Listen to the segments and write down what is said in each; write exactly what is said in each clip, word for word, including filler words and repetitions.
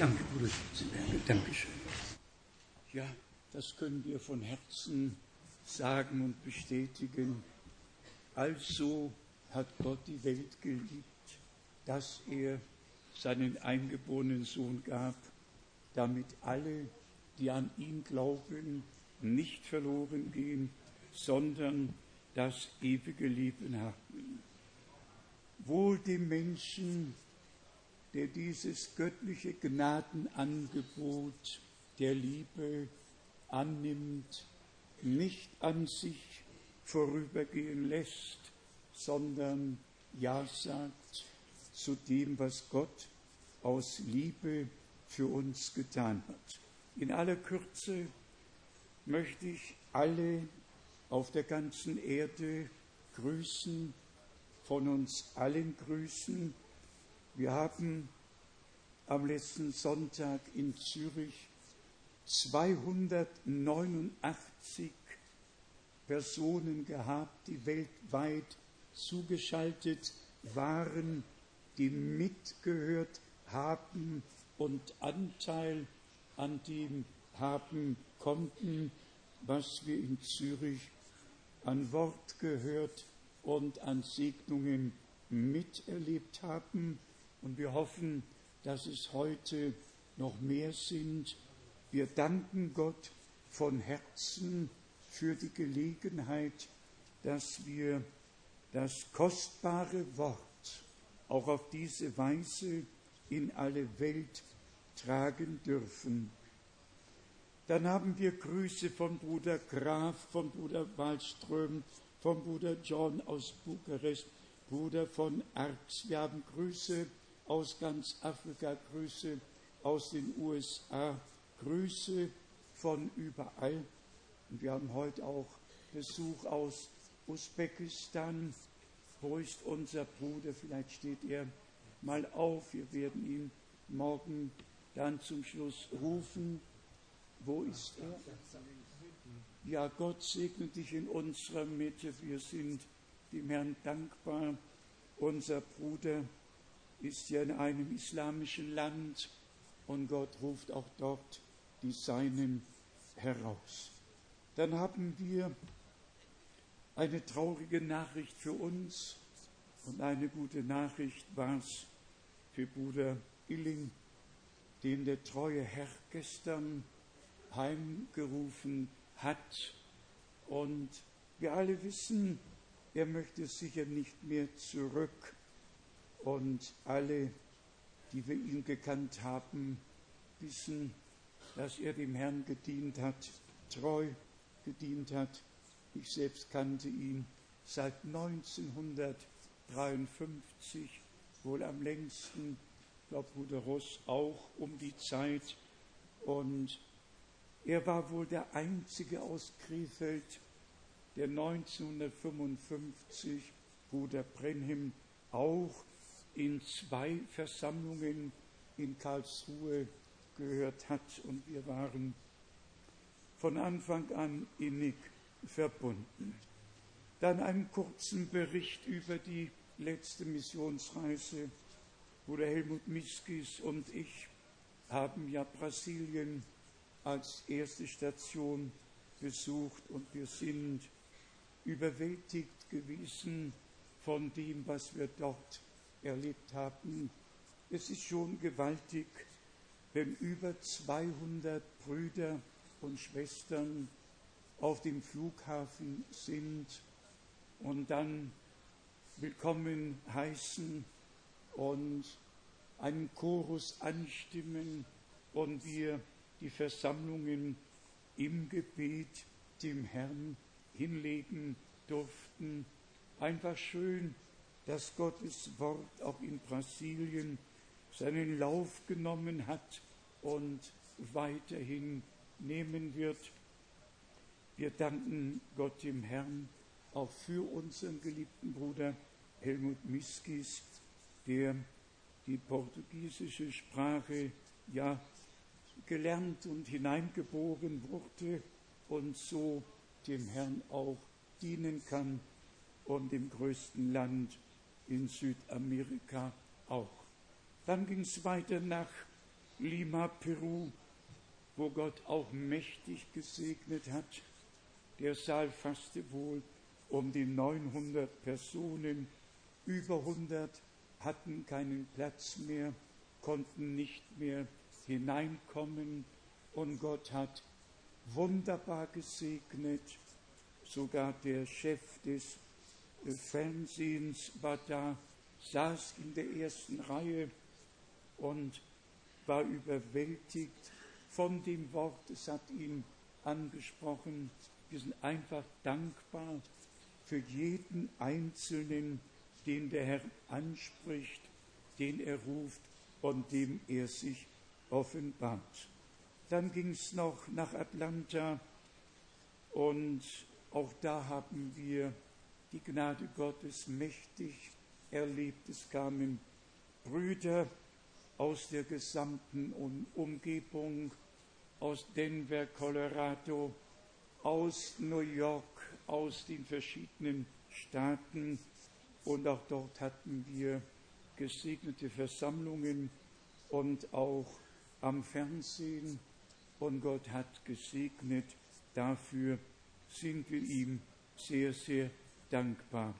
Danke, Bruder Schützenberger. Dankeschön. Ja, das können wir von Herzen sagen und bestätigen. Also hat Gott die Welt geliebt, dass er seinen eingeborenen Sohn gab, damit alle, die an ihn glauben, nicht verloren gehen, sondern das ewige Leben haben. Wohl dem Menschen, der dieses göttliche Gnadenangebot der Liebe annimmt, nicht an sich vorübergehen lässt, sondern Ja sagt zu dem, was Gott aus Liebe für uns getan hat. In aller Kürze möchte ich alle auf der ganzen Erde grüßen, von uns allen grüßen. Wir haben am letzten Sonntag in Zürich zweihundertneunundachtzig Personen gehabt, die weltweit zugeschaltet waren, die mitgehört haben und Anteil an dem haben konnten, was wir in Zürich an Wort gehört und an Segnungen miterlebt haben. Und wir hoffen, dass es heute noch mehr sind. Wir danken Gott von Herzen für die Gelegenheit, dass wir das kostbare Wort auch auf diese Weise in alle Welt tragen dürfen. Dann haben wir Grüße von Bruder Graf, von Bruder Wallström, von Bruder John aus Bukarest, Bruder von Arx. Wir haben Grüße aus ganz Afrika, Grüße aus den U S A, Grüße von überall. Und wir haben heute auch Besuch aus Usbekistan. Wo ist unser Bruder? Vielleicht steht er mal auf. Wir werden ihn morgen dann zum Schluss rufen. Wo ist er? Ja, Gott segne dich in unserer Mitte. Wir sind dem Herrn dankbar. Unser Bruder ist ja in einem islamischen Land und Gott ruft auch dort die Seinen heraus. Dann haben wir eine traurige Nachricht für uns und eine gute Nachricht war es für Bruder Illing, den der treue Herr gestern heimgerufen hat. Und wir alle wissen, er möchte sicher nicht mehr zurück. Und alle, die wir ihn gekannt haben, wissen, dass er dem Herrn gedient hat, treu gedient hat. Ich selbst kannte ihn seit neunzehnhundertdreiundfünfzig, wohl am längsten, ich glaube Bruder Ross auch um die Zeit. Und er war wohl der Einzige aus Krefeld, der neunzehnhundertfünfundfünfzig Bruder Brenhem auch in zwei Versammlungen in Karlsruhe gehört hat. Und wir waren von Anfang an innig verbunden. Dann einen kurzen Bericht über die letzte Missionsreise. Bruder Helmut Miskis und ich haben ja Brasilien als erste Station besucht und wir sind überwältigt gewesen von dem, was wir dort erlebt haben. Es ist schon gewaltig, wenn über zweihundert Brüder und Schwestern auf dem Flughafen sind und dann willkommen heißen und einen Chorus anstimmen und wir die Versammlungen im Gebet dem Herrn hinlegen durften. Einfach schön, dass Gottes Wort auch in Brasilien seinen Lauf genommen hat und weiterhin nehmen wird. Wir danken Gott dem Herrn auch für unseren geliebten Bruder Helmut Miskis, der die portugiesische Sprache ja gelernt und hineingeboren wurde und so dem Herrn auch dienen kann und dem größten Land in Südamerika auch. Dann ging es weiter nach Lima, Peru, wo Gott auch mächtig gesegnet hat. Der Saal fasste wohl um die neunhundert Personen. Über hundert hatten keinen Platz mehr, konnten nicht mehr hineinkommen. Und Gott hat wunderbar gesegnet. Sogar der Chef des Fernsehens war da, saß in der ersten Reihe und war überwältigt von dem Wort. Es hat ihn angesprochen. Wir sind einfach dankbar für jeden Einzelnen, den der Herr anspricht, den er ruft und dem er sich offenbart. Dann ging es noch nach Atlanta und auch da haben wir die Gnade Gottes mächtig erlebt. Es kamen Brüder aus der gesamten Umgebung, aus Denver, Colorado, aus New York, aus den verschiedenen Staaten. Und auch dort hatten wir gesegnete Versammlungen und auch am Fernsehen. Und Gott hat gesegnet. Dafür sind wir ihm sehr, sehr dankbar.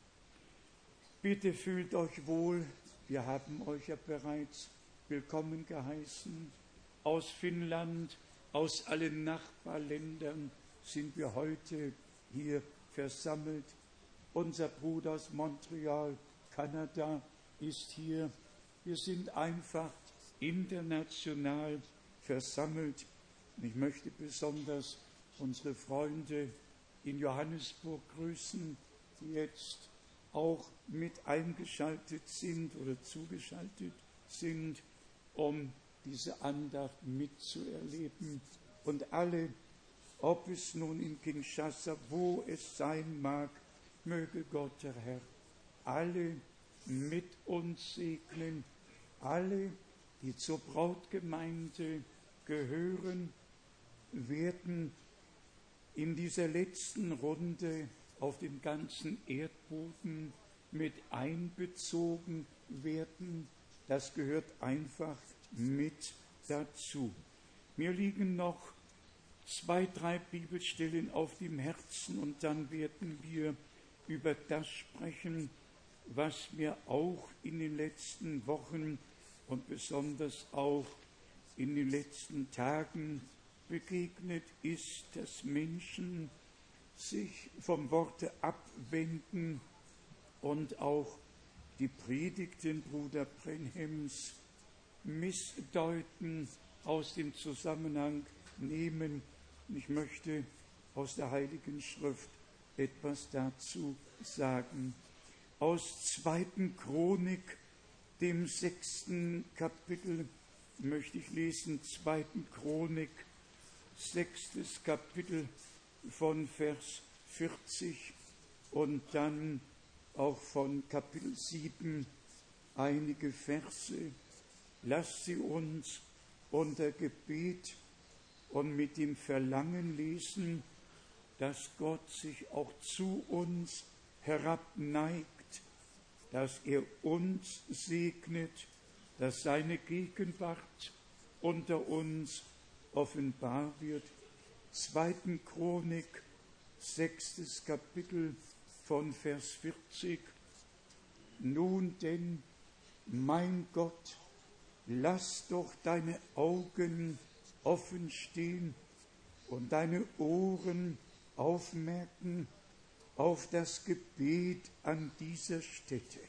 Bitte fühlt euch wohl. Wir haben euch ja bereits willkommen geheißen. Aus Finnland, aus allen Nachbarländern sind wir heute hier versammelt. Unser Bruder aus Montreal, Kanada, ist hier. Wir sind einfach international versammelt. Und ich möchte besonders unsere Freunde in Johannesburg grüßen, die jetzt auch mit eingeschaltet sind oder zugeschaltet sind, um diese Andacht mitzuerleben. Und alle, ob es nun in Kinshasa, wo es sein mag, möge Gott, der Herr, alle mit uns segnen, alle, die zur Brautgemeinde gehören, werden in dieser letzten Runde auf dem ganzen Erdboden mit einbezogen werden. Das gehört einfach mit dazu. Mir liegen noch zwei, drei Bibelstellen auf dem Herzen und dann werden wir über das sprechen, was mir auch in den letzten Wochen und besonders auch in den letzten Tagen begegnet ist, dass Menschen sich vom Worte abwenden und auch die Predigten Bruder Brenhems missdeuten, aus dem Zusammenhang nehmen. Und ich möchte aus der Heiligen Schrift etwas dazu sagen. Aus zweiten Chronik, dem sechsten Kapitel, möchte ich lesen, zweiten Chronik, sechstes Kapitel von Vers vierzig und dann auch von Kapitel sieben einige Verse. Lasst sie uns unter Gebet und mit dem Verlangen lesen, dass Gott sich auch zu uns herabneigt, dass er uns segnet, dass seine Gegenwart unter uns offenbar wird. Zweiten Chronik, sechstes Kapitel von Vers vierzig. Nun denn, mein Gott, lass doch deine Augen offen stehen und deine Ohren aufmerken auf das Gebet an dieser Stätte.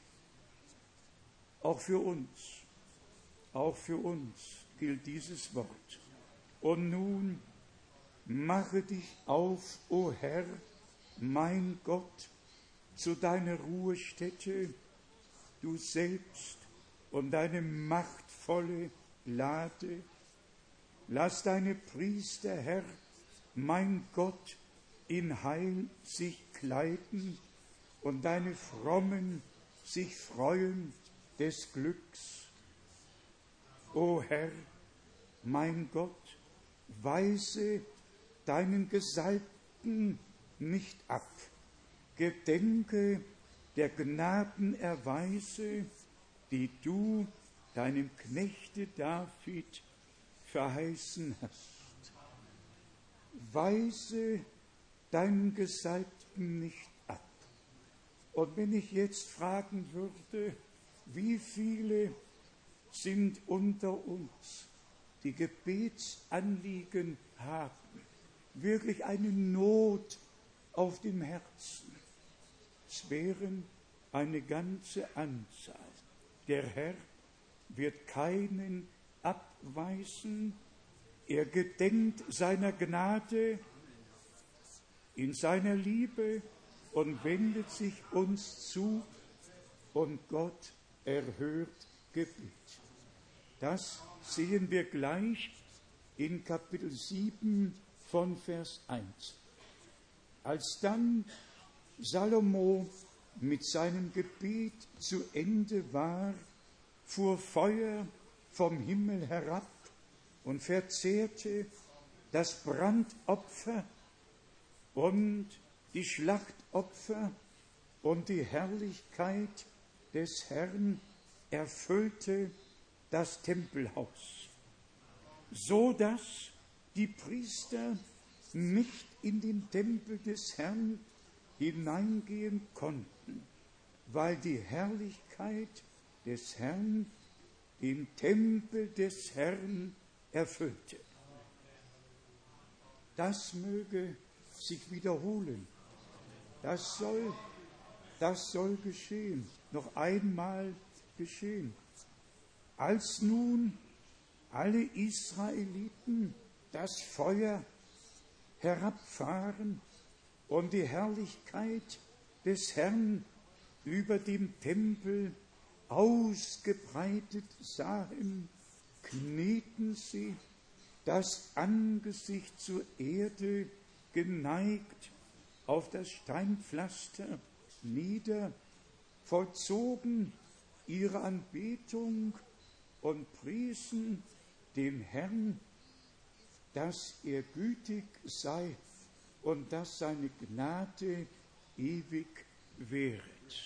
Auch für uns, auch für uns gilt dieses Wort. Und nun mache dich auf, o Herr, mein Gott, zu deiner Ruhestätte, du selbst und deine machtvolle Lade. Lass deine Priester, Herr, mein Gott, in Heil sich kleiden und deine Frommen sich freuen des Glücks. O Herr, mein Gott, weise deinen Gesalbten nicht ab. Gedenke der Gnadenerweise, die du deinem Knechte David verheißen hast. Weise deinen Gesalbten nicht ab. Und wenn ich jetzt fragen würde, wie viele sind unter uns, die Gebetsanliegen haben, wirklich eine Not auf dem Herzen. Es wären eine ganze Anzahl. Der Herr wird keinen abweisen. Er gedenkt seiner Gnade in seiner Liebe und wendet sich uns zu, und Gott erhört Gebet. Das sehen wir gleich in Kapitel sieben von Vers eins. Als dann Salomo mit seinem Gebet zu Ende war, fuhr Feuer vom Himmel herab und verzehrte das Brandopfer und die Schlachtopfer, und die Herrlichkeit des Herrn erfüllte das Tempelhaus, so dass die Priester nicht in den Tempel des Herrn hineingehen konnten, weil die Herrlichkeit des Herrn den Tempel des Herrn erfüllte. Das möge sich wiederholen. Das soll, das soll geschehen, noch einmal geschehen. Als nun alle Israeliten das Feuer herabfahren und die Herrlichkeit des Herrn über dem Tempel ausgebreitet sahen, knieten sie, das Angesicht zur Erde geneigt, auf das Steinpflaster nieder, vollzogen ihre Anbetung und priesen den Herrn, dass er gütig sei und dass seine Gnade ewig währet.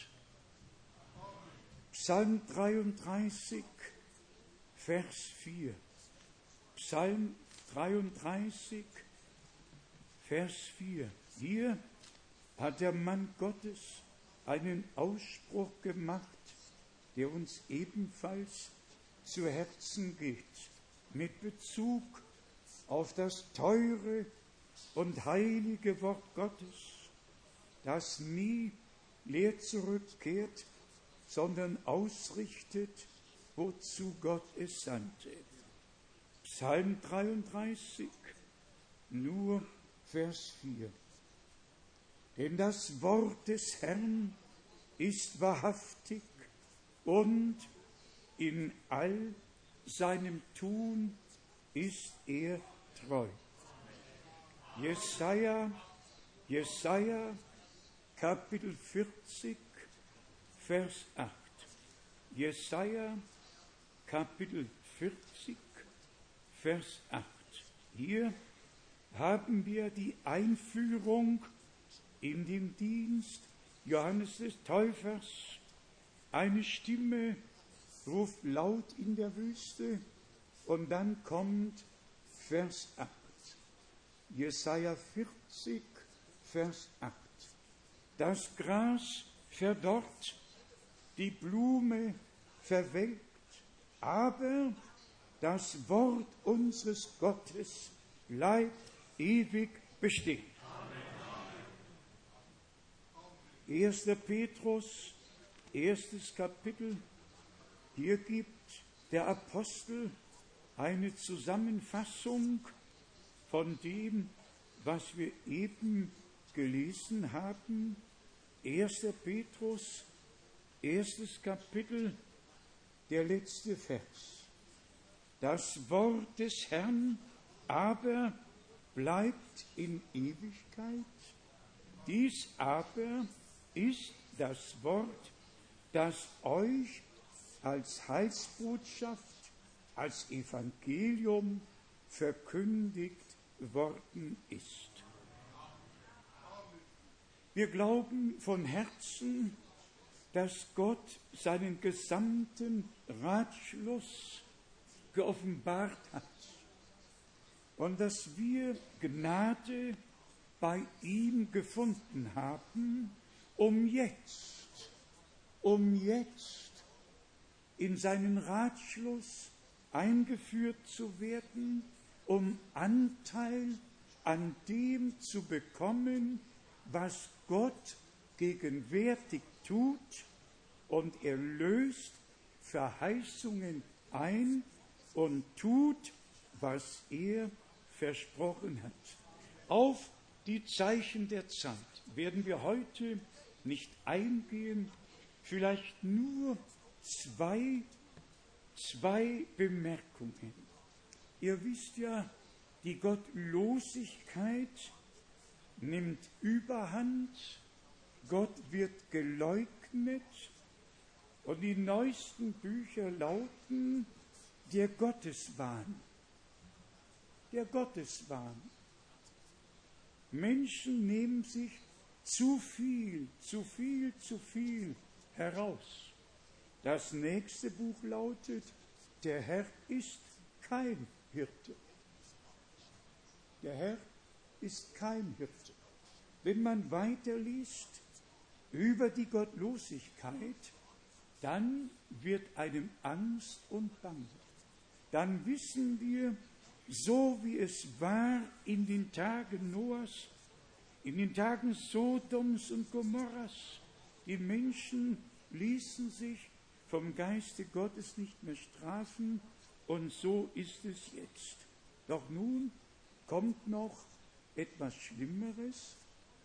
Psalm dreiunddreißig, Vers vier. Psalm dreiunddreißig, Vers vier. Hier hat der Mann Gottes einen Ausspruch gemacht, der uns ebenfalls zu Herzen geht, mit Bezug auf das teure und heilige Wort Gottes, das nie leer zurückkehrt, sondern ausrichtet, wozu Gott es sandte. Psalm dreiunddreißig, nur Vers vier. Denn das Wort des Herrn ist wahrhaftig und in all seinem Tun ist er treu. Jesaja, Jesaja, Kapitel vierzig, Vers acht. Jesaja, Kapitel vierzig, Vers acht. Hier haben wir die Einführung in den Dienst Johannes des Täufers. Eine Stimme ruft laut in der Wüste, und dann kommt Vers acht. Jesaja vierzig, Vers acht. Das Gras verdorrt, die Blume verwelkt, aber das Wort unseres Gottes bleibt ewig bestehen. erster Petrus, erstes Kapitel. Hier gibt der Apostel eine Zusammenfassung von dem, was wir eben gelesen haben. erster Petrus, erstes Kapitel, der letzte Vers. Das Wort des Herrn aber bleibt in Ewigkeit. Dies aber ist das Wort, das euch als Heilsbotschaft, als Evangelium verkündigt worden ist. Wir glauben von Herzen, dass Gott seinen gesamten Ratschluss geoffenbart hat und dass wir Gnade bei ihm gefunden haben, um jetzt, um jetzt in seinen Ratschluss eingeführt zu werden, um Anteil an dem zu bekommen, was Gott gegenwärtig tut, und er löst Verheißungen ein und tut, was er versprochen hat. Auf die Zeichen der Zeit werden wir heute nicht eingehen, vielleicht nur zwei, zwei Bemerkungen. Ihr wisst ja, die Gottlosigkeit nimmt Überhand, Gott wird geleugnet, und die neuesten Bücher lauten der Gotteswahn. Der Gotteswahn. Menschen nehmen sich zu viel, zu viel, zu viel heraus. Das nächste Buch lautet, der Herr ist kein Hirte. Der Herr ist kein Hirte. Wenn man weiterliest über die Gottlosigkeit, dann wird einem Angst und Bange. Dann wissen wir, so wie es war in den Tagen Noahs, in den Tagen Sodoms und Gomorras, die Menschen ließen sich vom Geiste Gottes nicht mehr strafen, und so ist es jetzt. Doch nun kommt noch etwas Schlimmeres.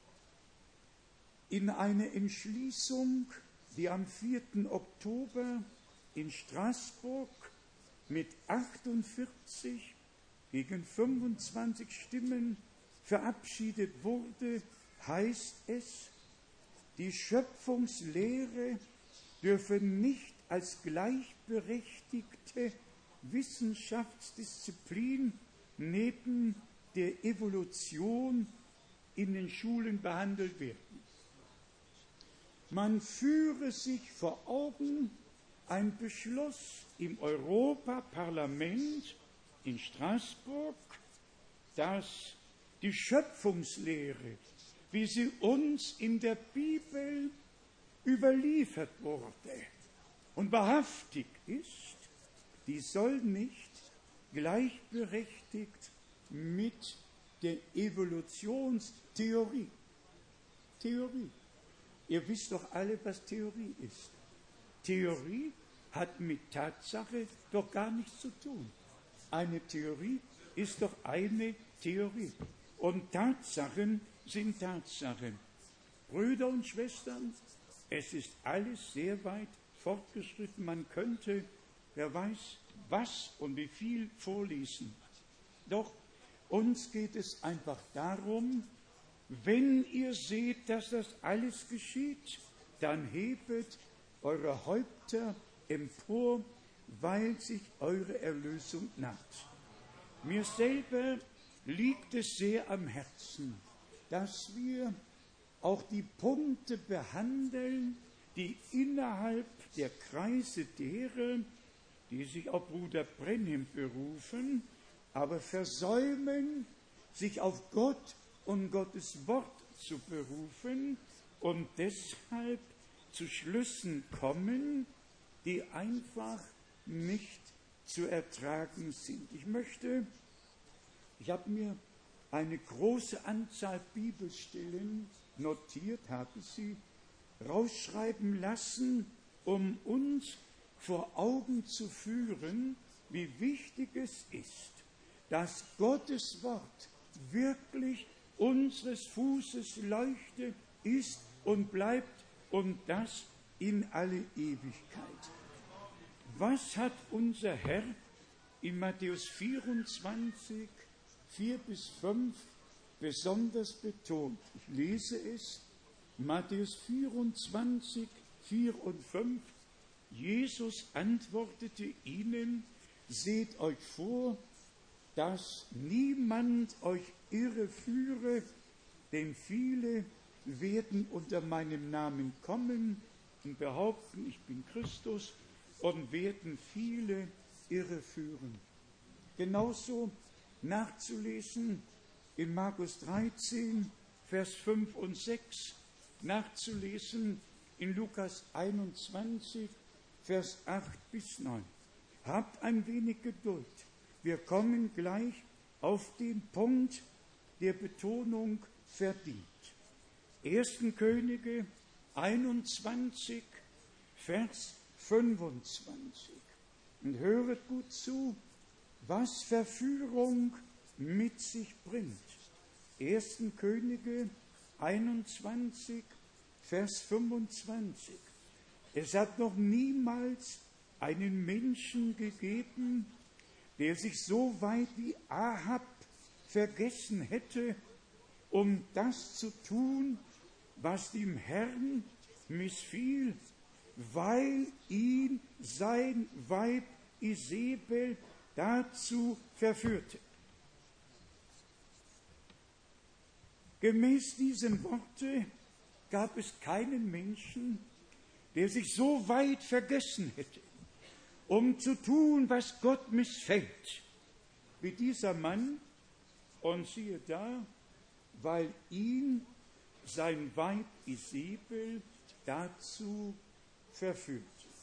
In einer Entschließung, die am vierten Oktober in Straßburg mit achtundvierzig gegen fünfundzwanzig Stimmen verabschiedet wurde, heißt es, die Schöpfungslehre dürfe nicht als gleichberechtigte Wissenschaftsdisziplin neben der Evolution in den Schulen behandelt werden. Man führe sich vor Augen, ein Beschluss im Europaparlament in Straßburg, dass die Schöpfungslehre, wie sie uns in der Bibel überliefert wurde und wahrhaftig ist, die soll nicht gleichberechtigt mit der Evolutionstheorie. Theorie. Ihr wisst doch alle, was Theorie ist. Theorie hat mit Tatsache doch gar nichts zu tun. Eine Theorie ist doch eine Theorie. Und Tatsachen sind Tatsachen. Brüder und Schwestern, es ist alles sehr weit fortgeschritten. Man könnte, wer weiß, was und wie viel vorlesen. Doch uns geht es einfach darum, wenn ihr seht, dass das alles geschieht, dann hebet eure Häupter empor, weil sich eure Erlösung naht. Mir selber liegt es sehr am Herzen, dass wir auch die Punkte behandeln, die innerhalb der Kreise derer, die sich auf Bruder Brenhem berufen, aber versäumen, sich auf Gott und Gottes Wort zu berufen und deshalb zu Schlüssen kommen, die einfach nicht zu ertragen sind. Ich möchte, ich habe mir eine große Anzahl Bibelstellen notiert, habe sie rausschreiben lassen, um uns vor Augen zu führen, wie wichtig es ist, dass Gottes Wort wirklich unseres Fußes Leuchte ist und bleibt, und das in alle Ewigkeit. Was hat unser Herr in Matthäus vierundzwanzig, vier bis fünf besonders betont? Ich lese es, Matthäus vierundzwanzig, vier und fünf. Jesus antwortete ihnen, seht euch vor, dass niemand euch irreführe, denn viele werden unter meinem Namen kommen, und behaupten, ich bin Christus und werden viele irreführen. Genauso nachzulesen in Markus dreizehn, Vers fünf und sechs, nachzulesen in Lukas einundzwanzig, Vers acht bis neun. Habt ein wenig Geduld. Wir kommen gleich auf den Punkt, der Betonung verdient. ersten Könige einundzwanzig, Vers fünfundzwanzig. Und höret gut zu, was Verführung mit sich bringt. ersten Könige einundzwanzig, Vers fünfundzwanzig. Es hat noch niemals einen Menschen gegeben, der sich so weit wie Ahab vergessen hätte, um das zu tun, was dem Herrn missfiel, weil ihn sein Weib Isabel dazu verführte. Gemäß diesem Worte gab es keinen Menschen, der sich so weit vergessen hätte, um zu tun, was Gott missfällt, wie dieser Mann. Und siehe da, weil ihn sein Weib Isabel dazu verführte.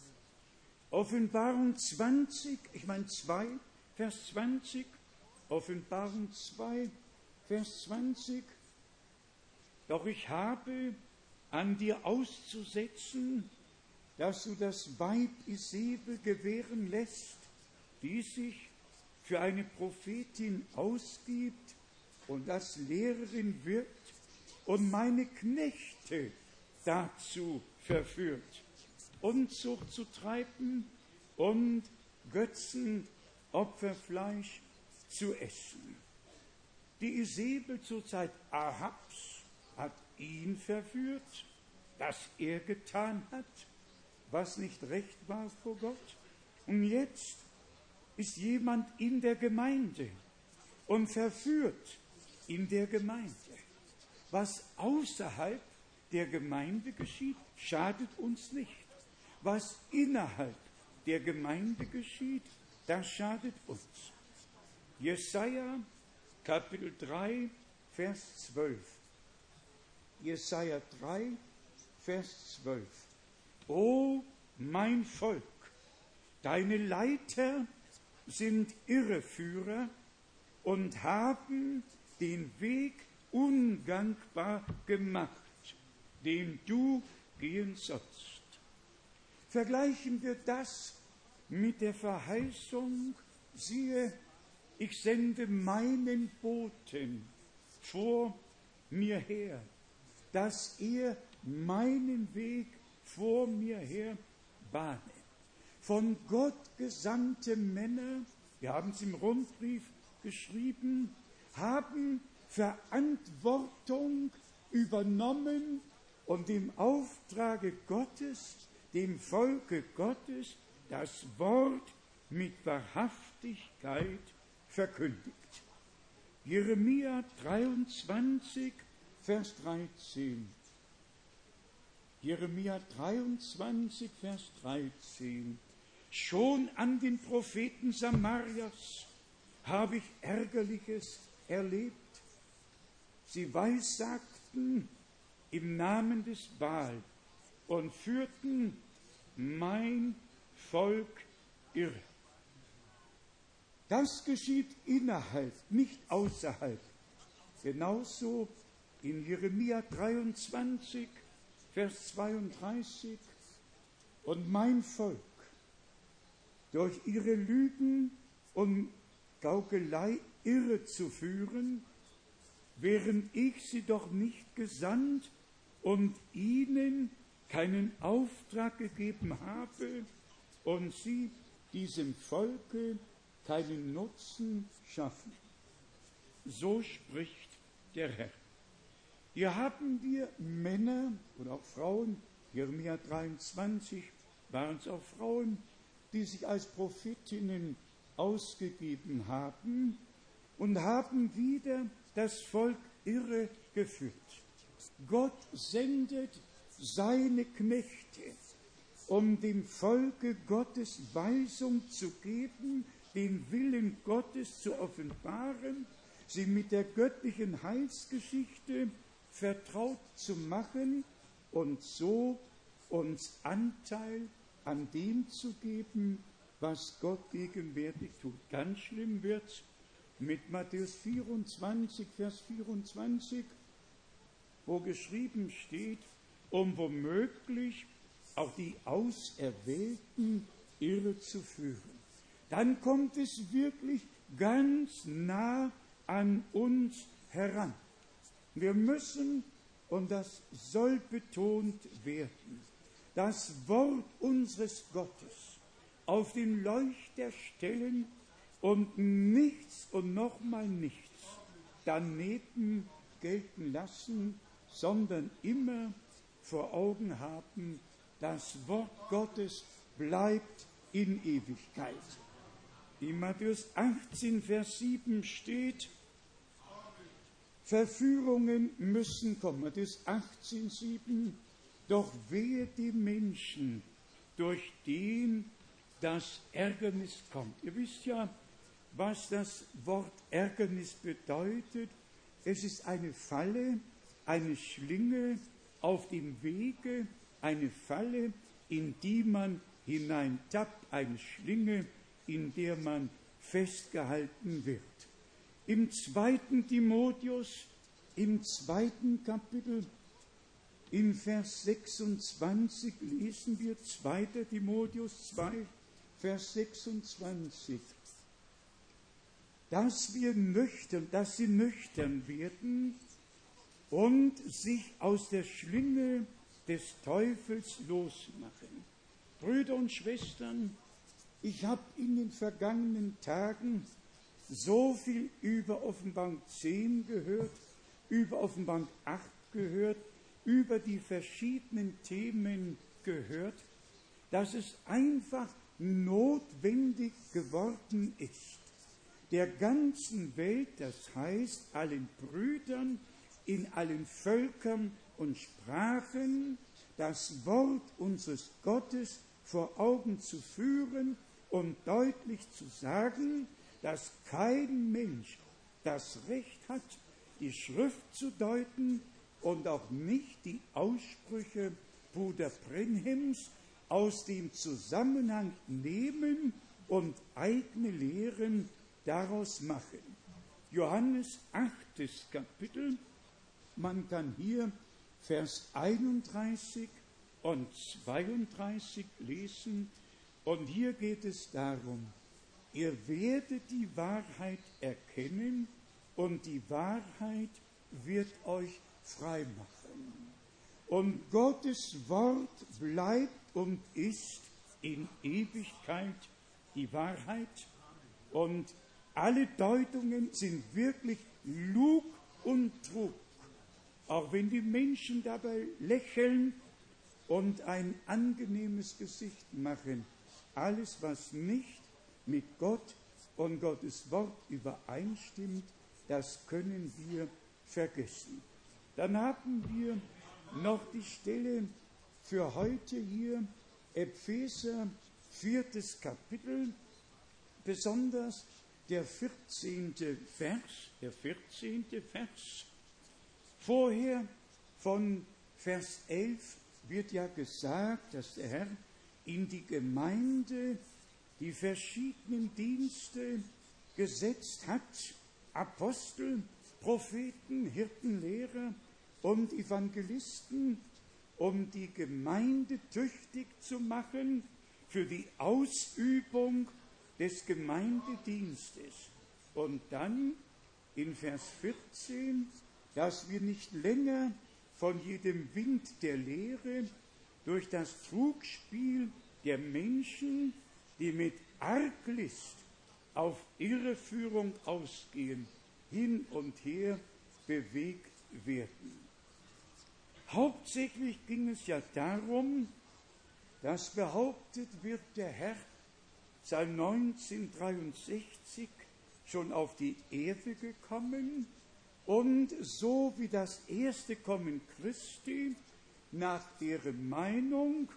Offenbarung zwanzig, ich meine zwei, Vers zwanzig, Offenbarung zwei, Vers zwanzig. Doch ich habe an dir auszusetzen, dass du das Weib Isabel gewähren lässt, die sich für eine Prophetin ausgibt und als Lehrerin wirkt und meine Knechte dazu verführt, Unzucht zu treiben und Götzenopferfleisch zu essen. Die Isabel zur Zeit Ahabs hat ihn verführt, dass er getan hat, was nicht recht war vor Gott. Und jetzt ist jemand in der Gemeinde und verführt in der Gemeinde. Was außerhalb der Gemeinde geschieht, schadet uns nicht. Was innerhalb der Gemeinde geschieht, das schadet uns. Jesaja, Kapitel drei, Vers zwölf. Jesaja drei, Vers zwölf. O mein Volk, deine Leiter sind Irreführer und haben den Weg ungangbar gemacht, den du gehen sollst. Vergleichen wir das mit der Verheißung, siehe, ich sende meinen Boten vor mir her, dass er meinen Weg vor mir her bahne. Von Gott gesandte Männer, wir haben es im Rundbrief geschrieben, haben Verantwortung übernommen und im Auftrage Gottes, dem Volke Gottes, das Wort mit Wahrhaftigkeit verkündigt. Jeremia dreiundzwanzig, Vers dreizehn. Jeremia dreiundzwanzig, Vers dreizehn. Schon an den Propheten Samarias habe ich Ärgerliches erlebt. Sie weissagten im Namen des Baal und führten mein Volk irre. Das geschieht innerhalb, nicht außerhalb. Genauso in Jeremia dreiundzwanzig, Vers zweiunddreißig. Und mein Volk, durch ihre Lügen und Gaukelei irre zu führen, während ich sie doch nicht gesandt und ihnen keinen Auftrag gegeben habe und sie diesem Volke keinen Nutzen schaffen. So spricht der Herr. Hier haben wir Männer oder auch Frauen, Jeremia dreiundzwanzig waren es auch Frauen, die sich als Prophetinnen ausgegeben haben und haben wieder das Volk irre geführt. Gott sendet seine Knechte, um dem Volke Gottes Weisung zu geben, den Willen Gottes zu offenbaren, sie mit der göttlichen Heilsgeschichte vertraut zu machen und so uns Anteil an dem zu geben, was Gott gegenwärtig tut. Ganz schlimm wird mit Matthäus vierundzwanzig, Vers vierundzwanzig, wo geschrieben steht, um womöglich auch die Auserwählten irre zu führen. Dann kommt es wirklich ganz nah an uns heran. Wir müssen, und das soll betont werden, das Wort unseres Gottes auf den Leuchter stellen und nichts und nochmal nichts daneben gelten lassen, sondern immer vor Augen haben, das Wort Gottes bleibt in Ewigkeit. In Matthäus achtzehn, Vers sieben steht, Verführungen müssen kommen. Matthäus achtzehn, sieben, doch wehe dem Menschen, durch den das Ärgernis kommt. Ihr wisst ja, was das Wort Ärgernis bedeutet. Es ist eine Falle, eine Schlinge auf dem Wege, eine Falle, in die man hineintappt, eine Schlinge, in der man festgehalten wird. Im zweiten Timotheus, im zweiten Kapitel, in Vers sechsundzwanzig lesen wir zweiter Timotheus zwei, Vers sechsundzwanzig, dass wir nüchtern, dass sie nüchtern werden und sich aus der Schlinge des Teufels losmachen. Brüder und Schwestern, ich habe in den vergangenen Tagen so viel über Offenbarung zehn gehört, über Offenbarung acht gehört, über die verschiedenen Themen gehört, dass es einfach notwendig geworden ist, der ganzen Welt, das heißt allen Brüdern in allen Völkern und Sprachen, das Wort unseres Gottes vor Augen zu führen und deutlich zu sagen, dass kein Mensch das Recht hat, die Schrift zu deuten und auch nicht die Aussprüche Bruder Brenhems aus dem Zusammenhang nehmen und eigene Lehren daraus machen. Johannes achtes Kapitel, man kann hier Vers einunddreißig und zweiunddreißig lesen, und hier geht es darum, ihr werdet die Wahrheit erkennen und die Wahrheit wird euch frei machen. Und Gottes Wort bleibt und ist in Ewigkeit die Wahrheit. Und alle Deutungen sind wirklich Lug und Trug. Auch wenn die Menschen dabei lächeln und ein angenehmes Gesicht machen. Alles, was nicht mit Gott und Gottes Wort übereinstimmt, das können wir vergessen. Dann haben wir noch die Stelle für heute hier, Epheser, viertes Kapitel, besonders der vierzehnte Vers, der vierzehnte Vers. Vorher von Vers elf wird ja gesagt, dass der Herr in die Gemeinde die verschiedenen Dienste gesetzt hat, Apostel, Propheten, Hirten, Lehrer und Evangelisten, um die Gemeinde tüchtig zu machen für die Ausübung des Gemeindedienstes. Und dann in Vers vierzehn, dass wir nicht länger von jedem Wind der Lehre durch das Trugspiel der Menschen, die mit Arglist auf Irreführung ausgehen, hin und her bewegt werden. Hauptsächlich ging es ja darum, dass behauptet wird, der Herr sei neunzehnhundertdreiundsechzig schon auf die Erde gekommen und so wie das erste Kommen Christi nach deren Meinung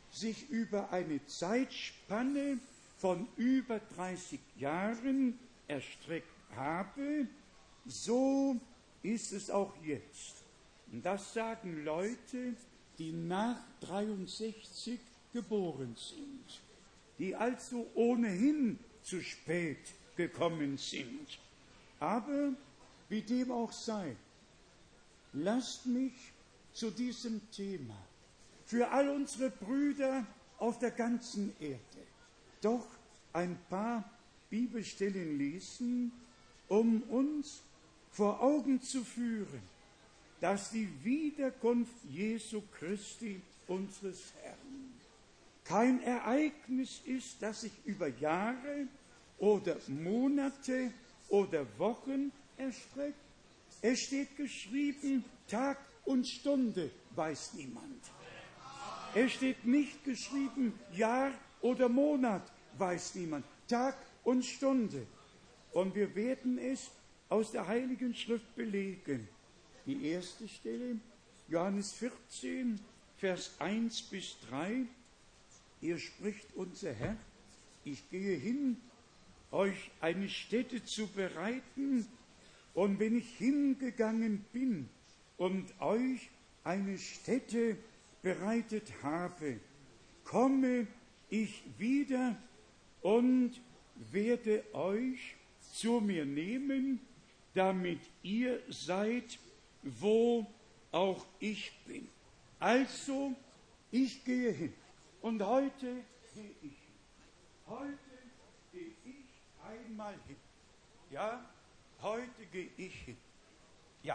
sich über eine Zeitspanne von über dreißig Jahren erstreckt habe, so ist es auch jetzt. Und das sagen Leute, die nach dreiundsechzig geboren sind, die also ohnehin zu spät gekommen sind. Aber wie dem auch sei, lasst mich zu diesem Thema für all unsere Brüder auf der ganzen Erde doch ein paar Bibelstellen lesen, um uns vor Augen zu führen, dass die Wiederkunft Jesu Christi, unseres Herrn, kein Ereignis ist, das sich über Jahre oder Monate oder Wochen erstreckt. Es steht geschrieben, Tag und Stunde weiß niemand. Es steht nicht geschrieben, Jahr oder Monat weiß niemand. Tag und Stunde. Und wir werden es aus der Heiligen Schrift belegen. Die erste Stelle, Johannes vierzehn, Vers eins bis drei. Hier spricht unser Herr, ich gehe hin, euch eine Stätte zu bereiten, und wenn ich hingegangen bin und euch eine Stätte bereitet habe, komme ich wieder und werde euch zu mir nehmen, damit ihr seid, wo auch ich bin. Also, ich gehe hin. Und heute gehe ich hin. Heute gehe ich einmal hin. Ja, heute gehe ich hin. Ja.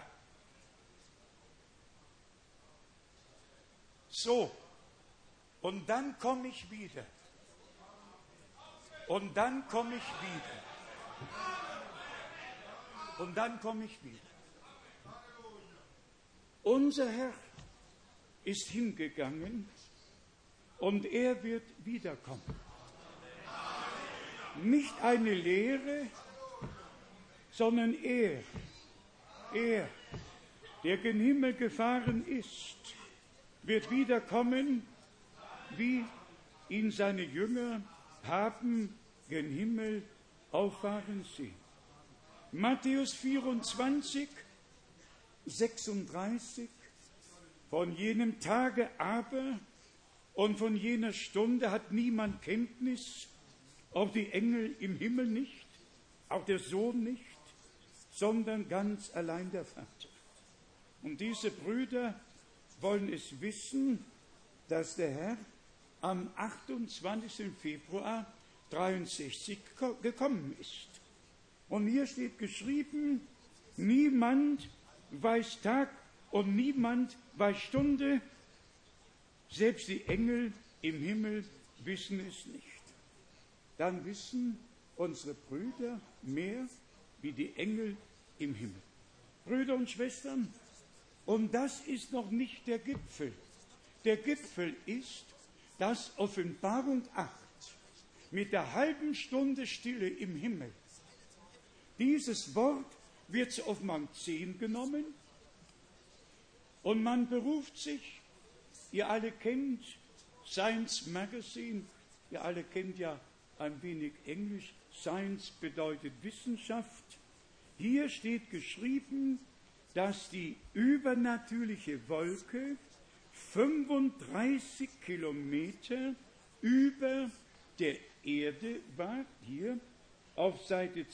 So. Und dann komme ich wieder. Und dann komme ich wieder. Und dann komme ich wieder. Unser Herr ist hingegangen und er wird wiederkommen. Nicht eine Lehre, sondern er, er, der gen Himmel gefahren ist, wird wiederkommen, wie ihn seine Jünger haben gen Himmel auffahren sehen. Matthäus vierundzwanzig, sechsunddreißig, von jenem Tage aber und von jener Stunde hat niemand Kenntnis, auch die Engel im Himmel nicht, auch der Sohn nicht, sondern ganz allein der Vater. Und diese Brüder wollen es wissen, dass der Herr am achtundzwanzigsten Februar dreiundsechzig gekommen ist. Und hier steht geschrieben, niemand weiß Tag und niemand weiß Stunde, selbst die Engel im Himmel wissen es nicht. Dann wissen unsere Brüder mehr wie die Engel im Himmel. Brüder und Schwestern, und das ist noch nicht der Gipfel. Der Gipfel ist, dass Offenbarung acht mit der halben Stunde Stille im Himmel. Dieses Wort wird zu Offenbarung zehn genommen und man beruft sich, ihr alle kennt Science Magazine, ihr alle kennt ja ein wenig Englisch, Science bedeutet Wissenschaft. Hier steht geschrieben, dass die übernatürliche Wolke fünfunddreißig Kilometer über der Erde war. Hier auf Seite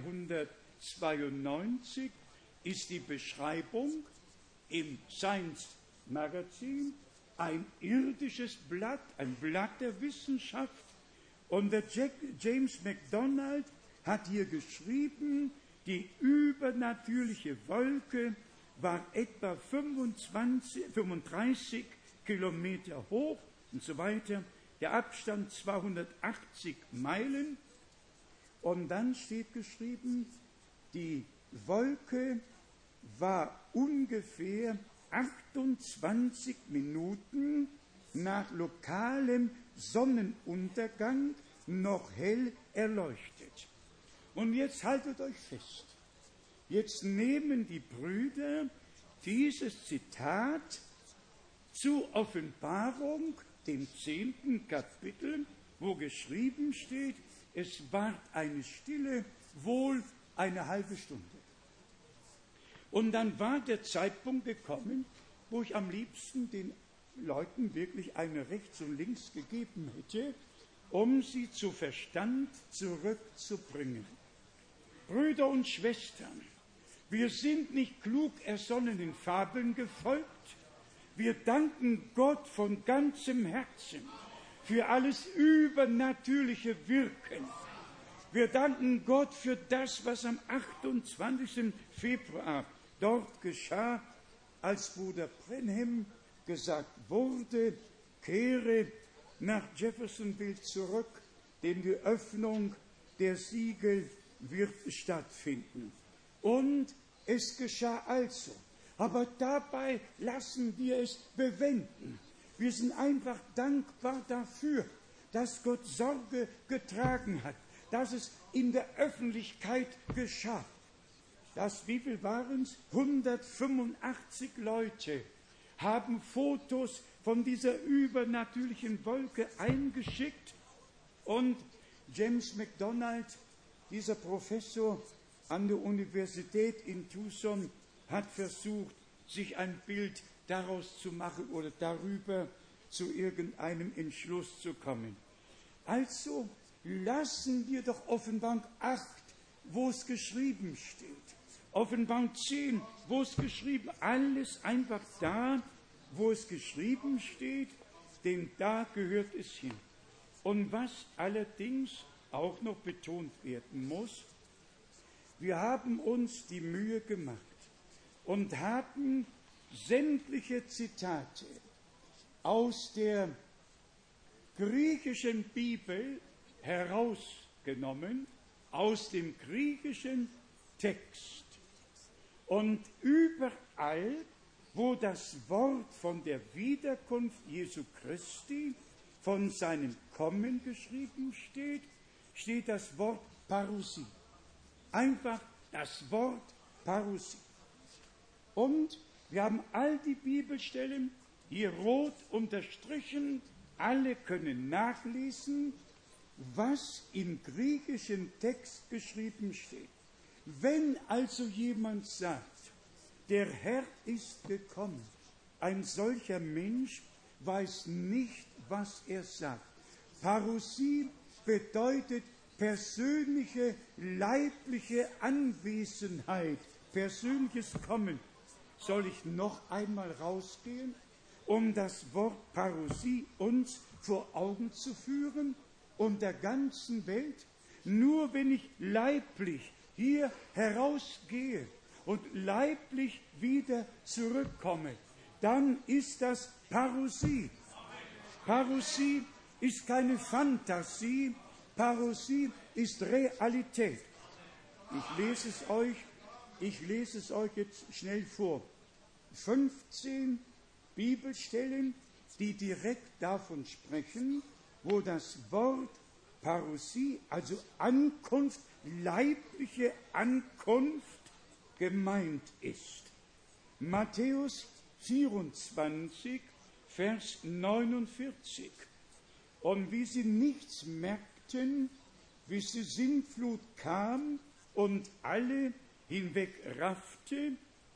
zweihundertzweiundneunzig ist die Beschreibung im Science Magazine, ein irdisches Blatt, ein Blatt der Wissenschaft. Und der Jack, James MacDonald hat hier geschrieben, die übernatürliche Wolke war etwa fünfundzwanzig, fünfunddreißig Kilometer hoch und so weiter. Der Abstand zweihundertachtzig Meilen. Und dann steht geschrieben, die Wolke war ungefähr achtundzwanzig Minuten nach lokalem Sonnenuntergang noch hell erleuchtet. Und jetzt haltet euch fest. Jetzt nehmen die Brüder dieses Zitat zur Offenbarung dem zehnten Kapitel, wo geschrieben steht, es ward eine Stille, wohl eine halbe Stunde. Und dann war der Zeitpunkt gekommen, wo ich am liebsten den Leuten wirklich eine rechts und links gegeben hätte, um sie zu Verstand zurückzubringen. Brüder und Schwestern, wir sind nicht klug ersonnenen Fabeln gefolgt. Wir danken Gott von ganzem Herzen für alles übernatürliche Wirken. Wir danken Gott für das, was am achtundzwanzigsten Februar dort geschah, als Bruder Brenhem gesagt wurde, kehre nach Jeffersonville zurück, denn die Öffnung der Siegel wird stattfinden. Und es geschah also. Aber dabei lassen wir es bewenden. Wir sind einfach dankbar dafür, dass Gott Sorge getragen hat, dass es in der Öffentlichkeit geschah. Das, wie viel waren es? hundertfünfundachtzig Leute haben Fotos von dieser übernatürlichen Wolke eingeschickt. Und James MacDonald, dieser Professor an der Universität in Tucson, hat versucht, sich ein Bild daraus zu machen oder darüber zu irgendeinem Entschluss zu kommen. Also lassen wir doch Offenbarung acht, wo es geschrieben steht. Offenbarung zehn, wo es geschrieben, alles einfach da, wo es geschrieben steht, denn da gehört es hin. Und was allerdings auch noch betont werden muss, wir haben uns die Mühe gemacht und haben sämtliche Zitate aus der griechischen Bibel herausgenommen, aus dem griechischen Text. Und überall, wo das Wort von der Wiederkunft Jesu Christi, von seinem Kommen geschrieben steht, steht das Wort Parousie. Einfach das Wort Parousie. Und wir haben all die Bibelstellen hier rot unterstrichen, alle können nachlesen, was im griechischen Text geschrieben steht. Wenn also jemand sagt, der Herr ist gekommen, ein solcher Mensch weiß nicht, was er sagt. Parousie bedeutet persönliche, leibliche Anwesenheit, persönliches Kommen. Soll ich noch einmal rausgehen, um das Wort Parousie uns vor Augen zu führen und der ganzen Welt? Nur wenn ich leiblich hier herausgehe und leiblich wieder zurückkomme, dann ist das Parousie. Parousie ist keine Fantasie, Parousie ist Realität. Ich lese es euch, ich lese es euch jetzt schnell vor. fünfzehn Bibelstellen, die direkt davon sprechen, wo das Wort Parousie, also Ankunft, leibliche Ankunft, gemeint ist. Matthäus vierundzwanzig, Vers neunundvierzig. Und wie sie nichts merkten, bis die Sintflut kam und alle hinwegraffte,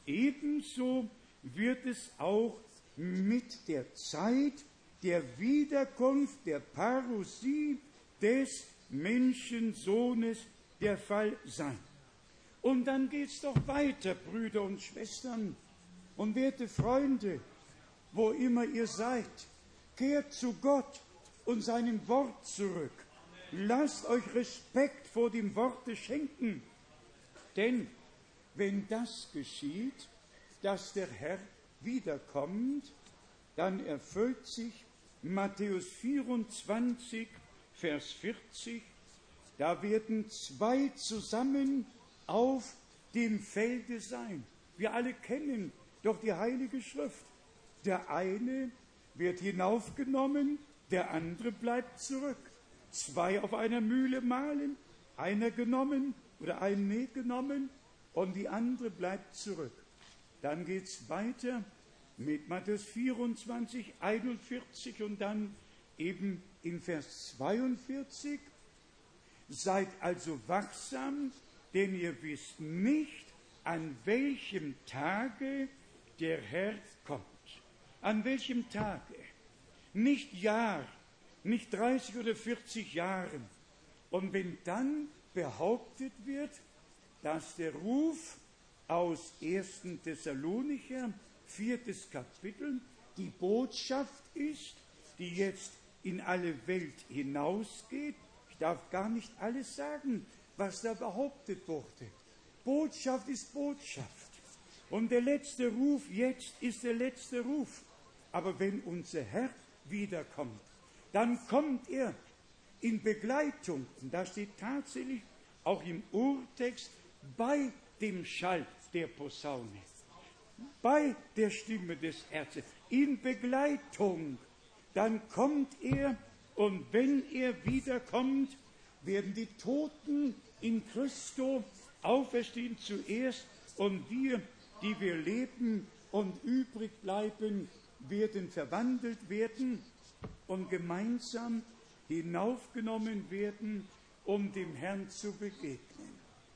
ebenso wird es auch mit der Zeit der Wiederkunft der Parousie des Menschensohnes der Fall sein. Und dann geht es doch weiter, Brüder und Schwestern und werte Freunde, wo immer ihr seid, kehrt zu Gott und seinem Wort zurück. Lasst euch Respekt vor dem Worte schenken, denn wenn das geschieht, dass der Herr wiederkommt, dann erfüllt sich Matthäus vierundzwanzig, Vers vierzig, da werden zwei zusammen auf dem Felde sein. Wir alle kennen doch die Heilige Schrift. Der eine wird hinaufgenommen, der andere bleibt zurück. Zwei auf einer Mühle mahlen, einer genommen oder ein Näh genommen und die andere bleibt zurück. Dann geht es weiter mit Matthäus vierundzwanzig, einundvierzig und dann eben in Vers zweiundvierzig, seid also wachsam, denn ihr wisst nicht, an welchem Tage der Herr kommt. An welchem Tage? Nicht Jahr, nicht dreißig oder vierzig Jahren. Und wenn dann behauptet wird, dass der Ruf aus ersten Thessalonicher, viertes Kapitel, die Botschaft ist, die jetzt in alle Welt hinausgeht. Ich darf gar nicht alles sagen, was da behauptet wurde. Botschaft ist Botschaft. Und der letzte Ruf jetzt ist der letzte Ruf. Aber wenn unser Herr wiederkommt, dann kommt er in Begleitung, und da steht tatsächlich auch im Urtext, bei dem Schall der Posaune, bei der Stimme des Herzens, in Begleitung, dann kommt er, und wenn er wiederkommt, werden die Toten in Christo auferstehen zuerst, und wir, die wir leben und übrig bleiben, werden verwandelt werden und gemeinsam hinaufgenommen werden, um dem Herrn zu begegnen.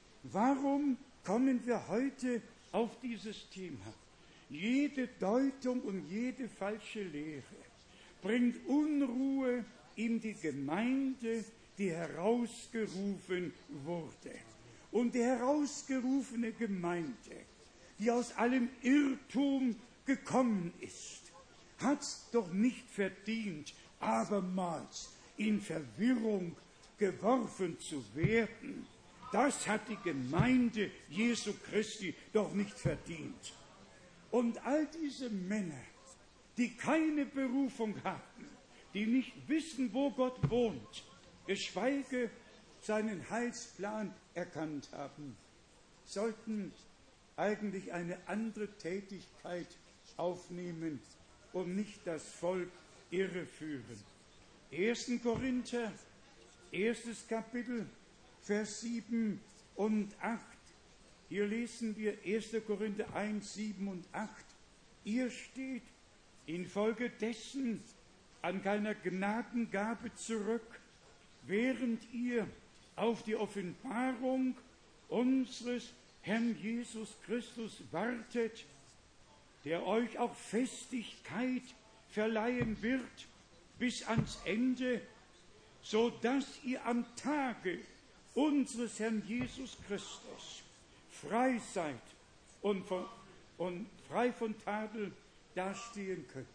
Warum kommen wir heute auf dieses Thema? Jede Deutung und jede falsche Lehre bringt Unruhe in die Gemeinde, die herausgerufen wurde. Und die herausgerufene Gemeinde, die aus allem Irrtum gekommen ist, hat es doch nicht verdient, abermals in Verwirrung geworfen zu werden. Das hat die Gemeinde Jesu Christi doch nicht verdient. Und all diese Männer, die keine Berufung hatten, die nicht wissen, wo Gott wohnt, geschweige seinen Heilsplan erkannt haben, sollten eigentlich eine andere Tätigkeit aufnehmen und nicht das Volk irreführen. erster Korinther, erstes Kapitel, Vers sieben und acht. Hier lesen wir erster Korinther eins, sieben und acht. Ihr steht infolgedessen an keiner Gnadengabe zurück, während ihr auf die Offenbarung unseres Herrn Jesus Christus wartet, der euch auch Festigkeit verleihen wird bis ans Ende, so dass ihr am Tage unseres Herrn Jesus Christus frei seid und, von, und frei von Tadel dastehen könnt.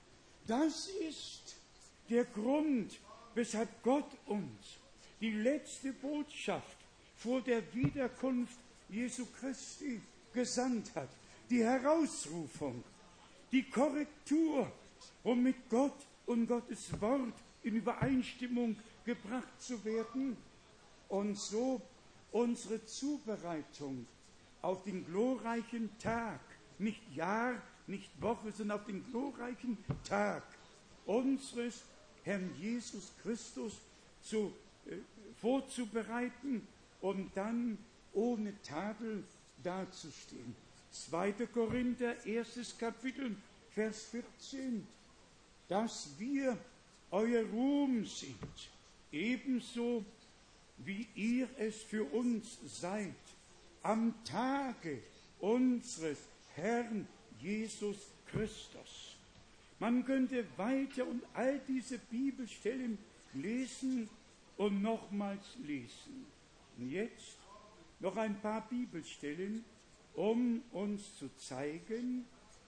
Das ist der Grund, weshalb Gott uns die letzte Botschaft vor der Wiederkunft Jesu Christi gesandt hat. Die Herausrufung, die Korrektur, um mit Gott und Gottes Wort in Übereinstimmung gebracht zu werden und so unsere Zubereitung auf den glorreichen Tag, nicht Jahr, nicht Woche, sondern auf den glorreichen Tag unseres Herrn Jesus Christus zu, äh, vorzubereiten und dann ohne Tadel dazustehen. zweiter Korinther, erstes Kapitel, Vers vierzehn. Dass wir euer Ruhm sind, ebenso wie ihr es für uns seid, am Tage unseres Herrn Jesus Christus. Man könnte weiter und all diese Bibelstellen lesen und nochmals lesen. Und jetzt noch ein paar Bibelstellen, um uns zu zeigen,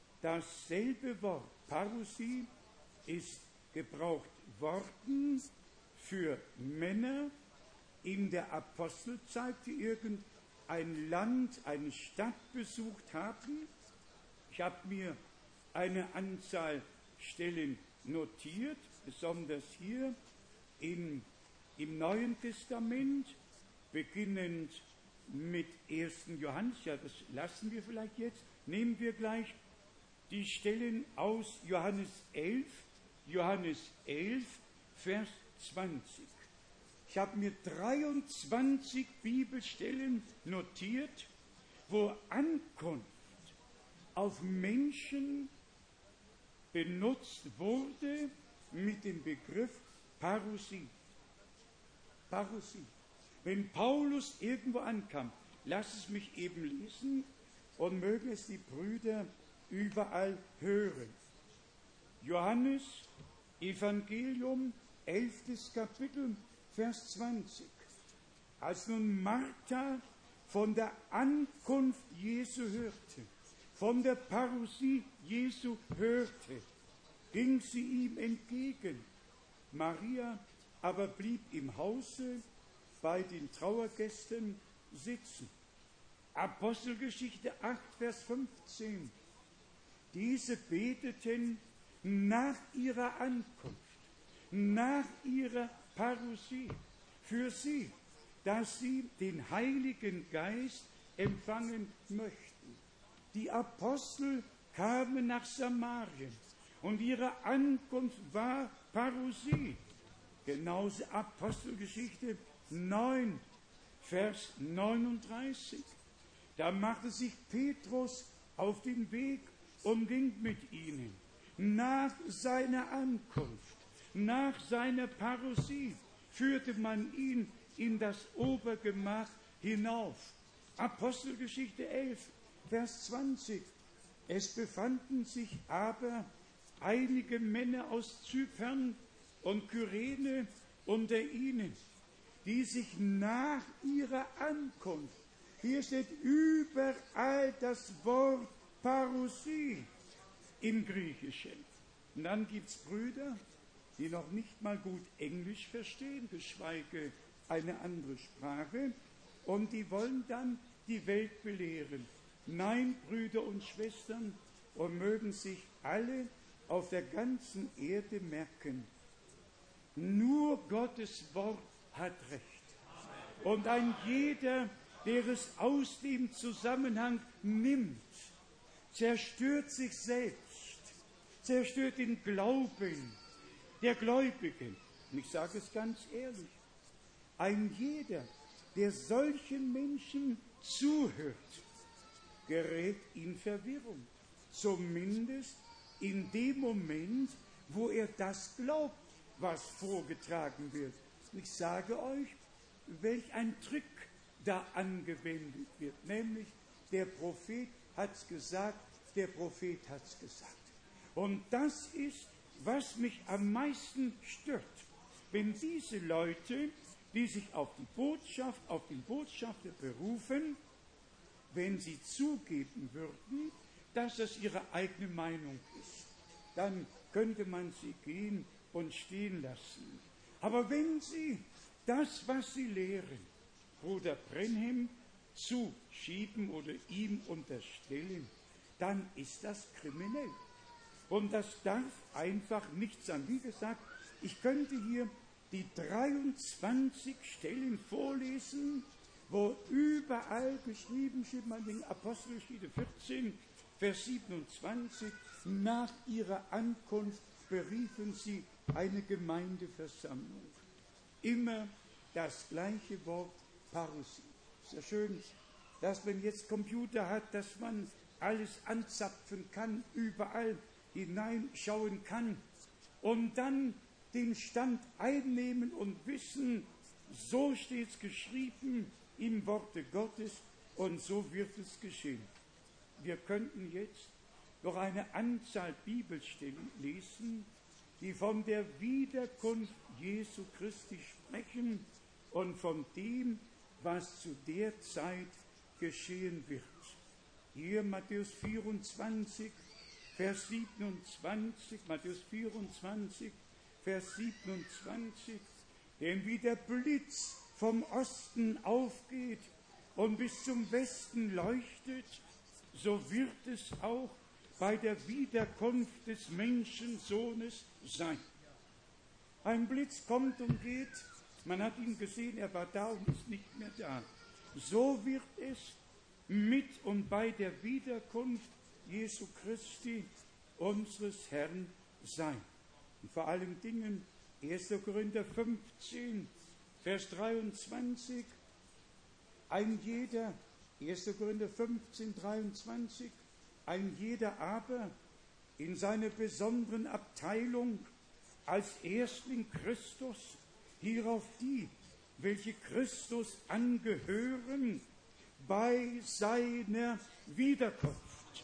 dasselbe Wort, Parousie, ist gebraucht worden für Männer in der Apostelzeit, die irgendein Land, eine Stadt besucht haben. Ich habe mir eine Anzahl Stellen notiert, besonders hier in, im Neuen Testament, beginnend mit ersten Johannes, ja, das lassen wir vielleicht jetzt, nehmen wir gleich die Stellen aus Johannes elf, Johannes elf, Vers zwanzig. Ich habe mir dreiundzwanzig Bibelstellen notiert, wo Ankunft auf Menschen benutzt wurde, mit dem Begriff Parousie. Parousie. Wenn Paulus irgendwo ankam, lass es mich eben lesen und mögen es die Brüder überall hören. Johannes, Evangelium, elftes Kapitel, Vers zwanzig. Als nun Martha von der Ankunft Jesu hörte, von der Parousie Jesu hörte, ging sie ihm entgegen. Maria aber blieb im Hause bei den Trauergästen sitzen. Apostelgeschichte acht, Vers fünfzehn. Diese beteten nach ihrer Ankunft, nach ihrer Parousie für sie, dass sie den Heiligen Geist empfangen möchten. Die Apostel kamen nach Samarien und ihre Ankunft war Parousie. Genauso Apostelgeschichte neun, Vers neununddreißig. Da machte sich Petrus auf den Weg und ging mit ihnen. Nach seiner Ankunft, nach seiner Parousie, führte man ihn in das Obergemach hinauf. Apostelgeschichte elf, Vers zwanzig. Es befanden sich aber einige Männer aus Zypern und Kyrene unter ihnen, die sich nach ihrer Ankunft, hier steht überall das Wort Parousie im Griechischen. Und dann gibt es Brüder, die noch nicht mal gut Englisch verstehen, geschweige eine andere Sprache, und die wollen dann die Welt belehren. Nein, Brüder und Schwestern, und mögen sich alle auf der ganzen Erde merken, nur Gottes Wort hat Recht. Und ein jeder, der es aus dem Zusammenhang nimmt, zerstört sich selbst, zerstört den Glauben der Gläubigen. Und ich sage es ganz ehrlich, ein jeder, der solchen Menschen zuhört, gerät in Verwirrung. Zumindest in dem Moment, wo er das glaubt, was vorgetragen wird. Und ich sage euch, welch ein Trick da angewendet wird. Nämlich, der Prophet hat es gesagt, der Prophet hat es gesagt. Und das ist, was mich am meisten stört. Wenn diese Leute, die sich auf die Botschaft, auf den Botschafter berufen, wenn sie zugeben würden, dass das ihre eigene Meinung ist, dann könnte man sie gehen und stehen lassen. Aber wenn sie das, was sie lehren, Bruder Brenhem zuschieben oder ihm unterstellen, dann ist das kriminell. Und das darf einfach nicht sein. Wie gesagt, ich könnte hier die dreiundzwanzig Stellen vorlesen, wo überall geschrieben steht, man in Apostelgeschichte vierzehn, Vers siebenundzwanzig, nach ihrer Ankunft beriefen sie eine Gemeindeversammlung. Immer das gleiche Wort Parousie. Ist ja schön, dass man jetzt Computer hat, dass man alles anzapfen kann, überall hineinschauen kann und dann den Stand einnehmen und wissen, so steht es geschrieben im Worte Gottes und so wird es geschehen. Wir könnten jetzt noch eine Anzahl Bibelstellen lesen, die von der Wiederkunft Jesu Christi sprechen und von dem, was zu der Zeit geschehen wird. Hier Matthäus vierundzwanzig, Vers siebenundzwanzig, Matthäus vierundzwanzig, Vers siebenundzwanzig, denn wie der Blitz vom Osten aufgeht und bis zum Westen leuchtet, so wird es auch bei der Wiederkunft des Menschensohnes sein. Ein Blitz kommt und geht, man hat ihn gesehen, er war da und ist nicht mehr da. So wird es mit und bei der Wiederkunft Jesu Christi, unseres Herrn, sein. Und vor allen Dingen erster Korinther fünfzehn, Vers dreiundzwanzig, ein jeder, erster Korinther fünfzehn, dreiundzwanzig, ein jeder aber in seiner besonderen Abteilung als Erstling Christus, hierauf die, welche Christus angehören, bei seiner Wiederkunft.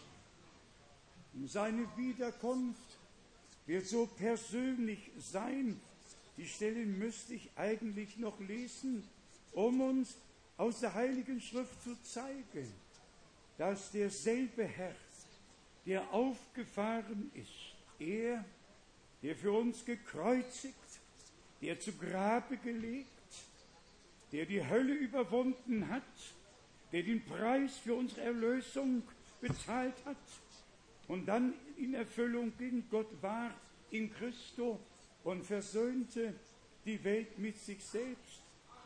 Seine Wiederkunft wird so persönlich sein. Die Stelle müsste ich eigentlich noch lesen, um uns aus der Heiligen Schrift zu zeigen, dass derselbe Herr, der aufgefahren ist, er, der für uns gekreuzigt, der zu Grabe gelegt, der die Hölle überwunden hat, der den Preis für unsere Erlösung bezahlt hat und dann in Erfüllung ging. Gott war in Christo und versöhnte die Welt mit sich selbst.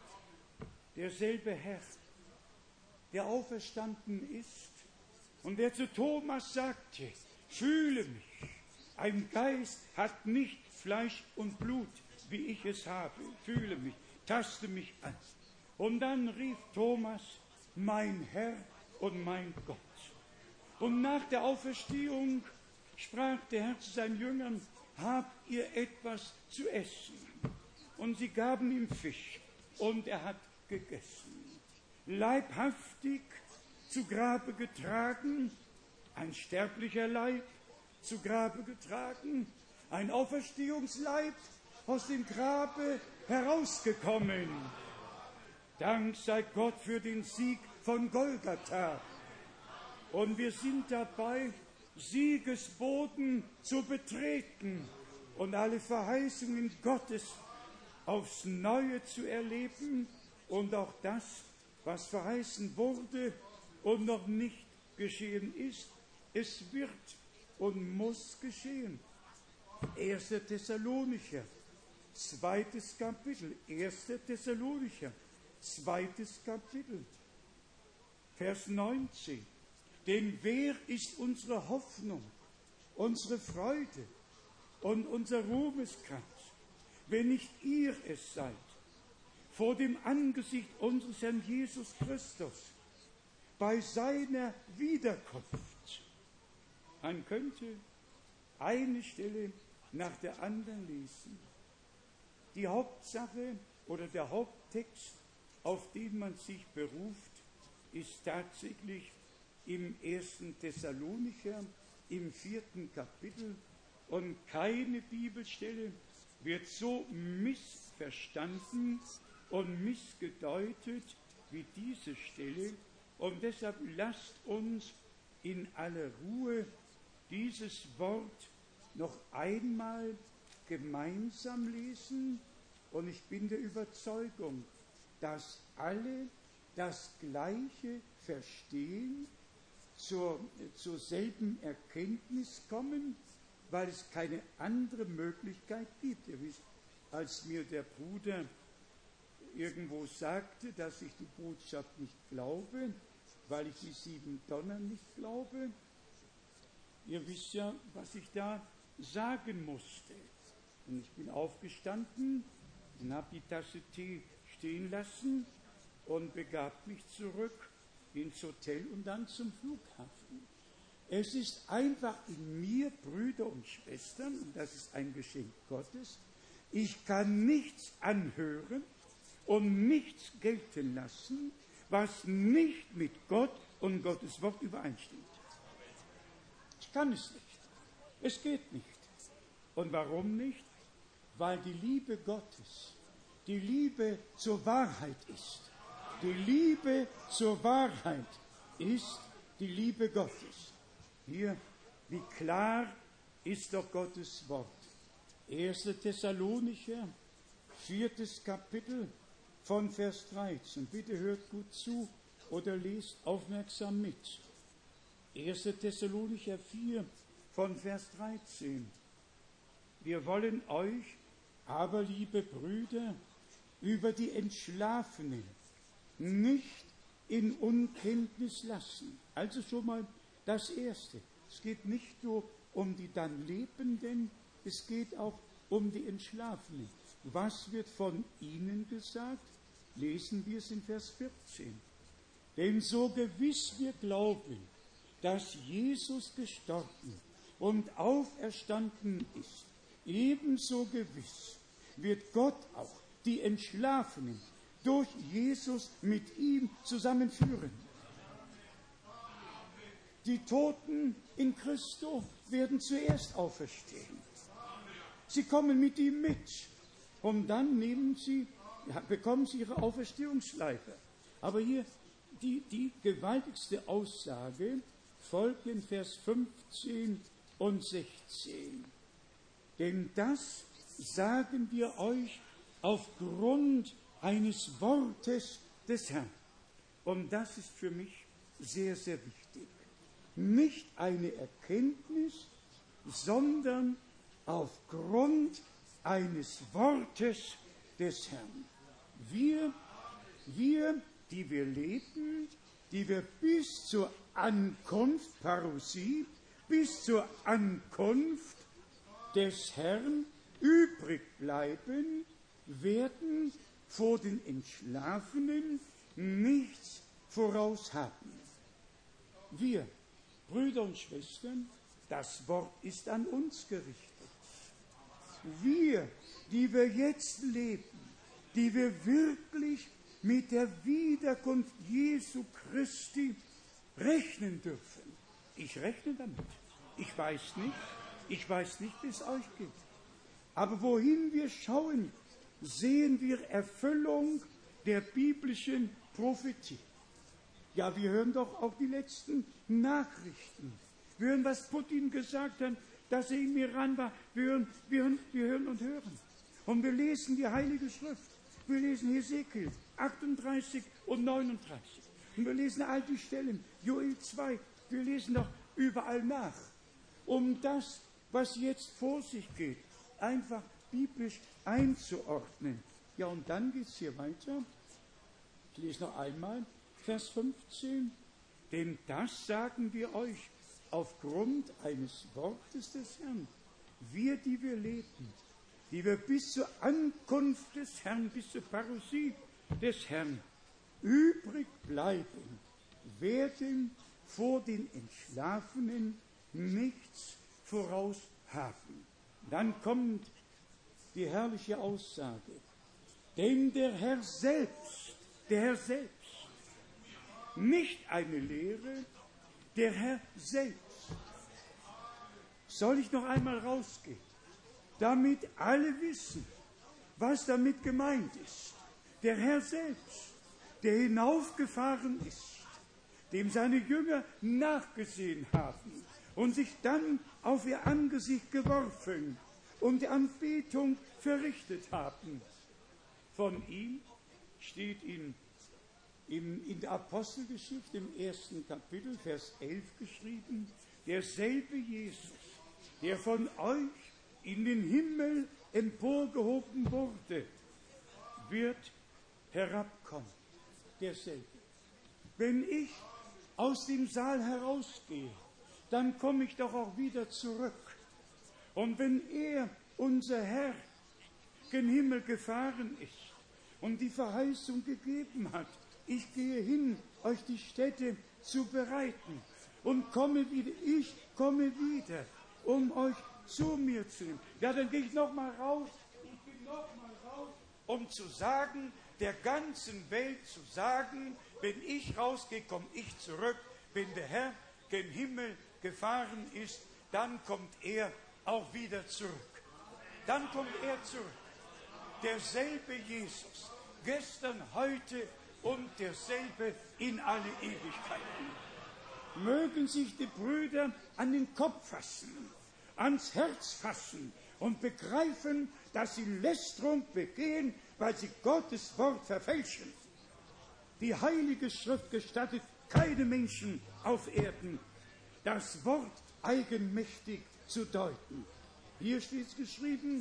Derselbe Herr, der auferstanden ist und der zu Thomas sagte, fühle mich, ein Geist hat nicht Fleisch und Blut, wie ich es habe, fühle mich, taste mich an. Und dann rief Thomas, mein Herr und mein Gott. Und nach der Auferstehung sprach der Herr zu seinen Jüngern, habt ihr etwas zu essen? Und sie gaben ihm Fisch und er hat gegessen. Leibhaftig zu Grabe getragen, ein sterblicher Leib zu Grabe getragen, ein Auferstehungsleib aus dem Grabe herausgekommen. Dank sei Gott für den Sieg von Golgatha. Und wir sind dabei, Siegesboden zu betreten und alle Verheißungen Gottes aufs Neue zu erleben und auch das, was verheißen wurde und noch nicht geschehen ist, es wird und muss geschehen. erster Thessalonicher, zweites Kapitel, erster Thessalonicher, zweites Kapitel, Vers neunzehn. Denn wer ist unsere Hoffnung, unsere Freude und unser Ruhmeskranz, wenn nicht ihr es seid, vor dem Angesicht unseres Herrn Jesus Christus, bei seiner Wiederkunft? Man könnte eine Stelle nach der anderen lesen. Die Hauptsache oder der Haupttext, auf den man sich beruft, ist tatsächlich im ersten Thessalonicher, im vierten Kapitel, und keine Bibelstelle wird so missverstanden und missgedeutet wie diese Stelle. Und deshalb lasst uns in aller Ruhe dieses Wort noch einmal gemeinsam lesen. Und ich bin der Überzeugung, dass alle das Gleiche verstehen, zur, zur selben Erkenntnis kommen, weil es keine andere Möglichkeit gibt. Ihr wisst, als mir der Bruder irgendwo sagte, dass ich die Botschaft nicht glaube, weil ich die sieben Donner nicht glaube, ihr wisst ja, was ich da sagen musste. Und ich bin aufgestanden und habe die Tasse Tee stehen lassen und begab mich zurück ins Hotel und dann zum Flughafen. Es ist einfach in mir, Brüder und Schwestern, und das ist ein Geschenk Gottes, ich kann nichts anhören und nichts gelten lassen, was nicht mit Gott und Gottes Wort übereinstimmt. Ich kann es nicht. Es geht nicht. Und warum nicht? Weil die Liebe Gottes die Liebe zur Wahrheit ist. Die Liebe zur Wahrheit ist die Liebe Gottes. Hier, wie klar ist doch Gottes Wort. erster Thessalonicher, viertes Kapitel von Vers dreizehn. Bitte hört gut zu oder lest aufmerksam mit. erster Thessalonicher vier von Vers dreizehn. Wir wollen euch aber, liebe Brüder, über die Entschlafenen nicht in Unkenntnis lassen. Also schon mal das Erste. Es geht nicht nur um die dann Lebenden, es geht auch um die Entschlafenen. Was wird von ihnen gesagt? Lesen wir es in Vers vierzehn. Denn so gewiss wir glauben, dass Jesus gestorben und auferstanden ist, ebenso gewiss wird Gott auch die Entschlafenen durch Jesus mit ihm zusammenführen. Die Toten in Christo werden zuerst auferstehen. Sie kommen mit ihm mit und dann nehmen sie, ja, bekommen sie ihre Auferstehungsschleife. Aber hier die, die gewaltigste Aussage folgt in Vers fünfzehn und sechzehn. Denn das sagen wir euch aufgrund eines Wortes des Herrn. Und das ist für mich sehr, sehr wichtig. Nicht eine Erkenntnis, sondern aufgrund eines Wortes des Herrn. Wir, wir, die wir leben, die wir bis zur Ankunft, Parousie, bis zur Ankunft des Herrn übrig bleiben, werden vor den Entschlafenen nichts voraus haben. Wir, Brüder und Schwestern, das Wort ist an uns gerichtet. Wir, die wir jetzt leben, die wir wirklich mit der Wiederkunft Jesu Christi rechnen dürfen. Ich rechne damit. Ich weiß nicht, ich weiß nicht, wie es euch geht. Aber wohin wir schauen, sehen wir Erfüllung der biblischen Prophetie. Ja, wir hören doch auch die letzten Nachrichten. Wir hören, was Putin gesagt hat, dass er im Iran war. Wir hören, wir hören, wir hören und hören. Und wir lesen die Heilige Schrift. Wir lesen Hesekiel achtunddreißig und neununddreißig. Und wir lesen all die Stellen, Joel zwei. Wir lesen doch überall nach, um das, was jetzt vor sich geht, einfach biblisch einzuordnen. Ja, und dann geht es hier weiter. Ich lese noch einmal Vers fünfzehn. Denn das sagen wir euch aufgrund eines Wortes des Herrn. Wir, die wir leben, die wir bis zur Ankunft des Herrn, bis zur Parousie des Herrn übrig bleiben, werden vor den Entschlafenen nichts voraus haben. Dann kommt die herrliche Aussage. Denn der Herr selbst, der Herr selbst, nicht eine Lehre, der Herr selbst. Soll ich noch einmal rausgehen, damit alle wissen, was damit gemeint ist. Der Herr selbst, der hinaufgefahren ist, dem seine Jünger nachgesehen haben und sich dann auf ihr Angesicht geworfen und die Anbetung verrichtet haben. Von ihm steht in, in, in der Apostelgeschichte im ersten Kapitel, Vers elf geschrieben, derselbe Jesus, der von euch in den Himmel emporgehoben wurde, wird herabkommen. Derselbe. Wenn ich aus dem Saal herausgehe, dann komme ich doch auch wieder zurück. Und wenn er, unser Herr, gen Himmel gefahren ist und die Verheißung gegeben hat, ich gehe hin, euch die Stätte zu bereiten und komme wieder, ich komme wieder, um euch zu mir zu nehmen. Ja, dann gehe ich noch mal raus, ich gehe noch mal raus, um zu sagen, der ganzen Welt zu sagen, wenn ich rausgehe, komme ich zurück. Wenn der Herr gen Himmel gefahren ist, dann kommt er auch wieder zurück. Dann kommt er zurück. Derselbe Jesus, gestern, heute und derselbe in alle Ewigkeiten. Mögen sich die Brüder an den Kopf fassen, ans Herz fassen und begreifen, dass sie Lästerung begehen, weil sie Gottes Wort verfälschen. Die Heilige Schrift gestattet keinem Menschen auf Erden, das Wort eigenmächtig zu deuten. Hier steht es geschrieben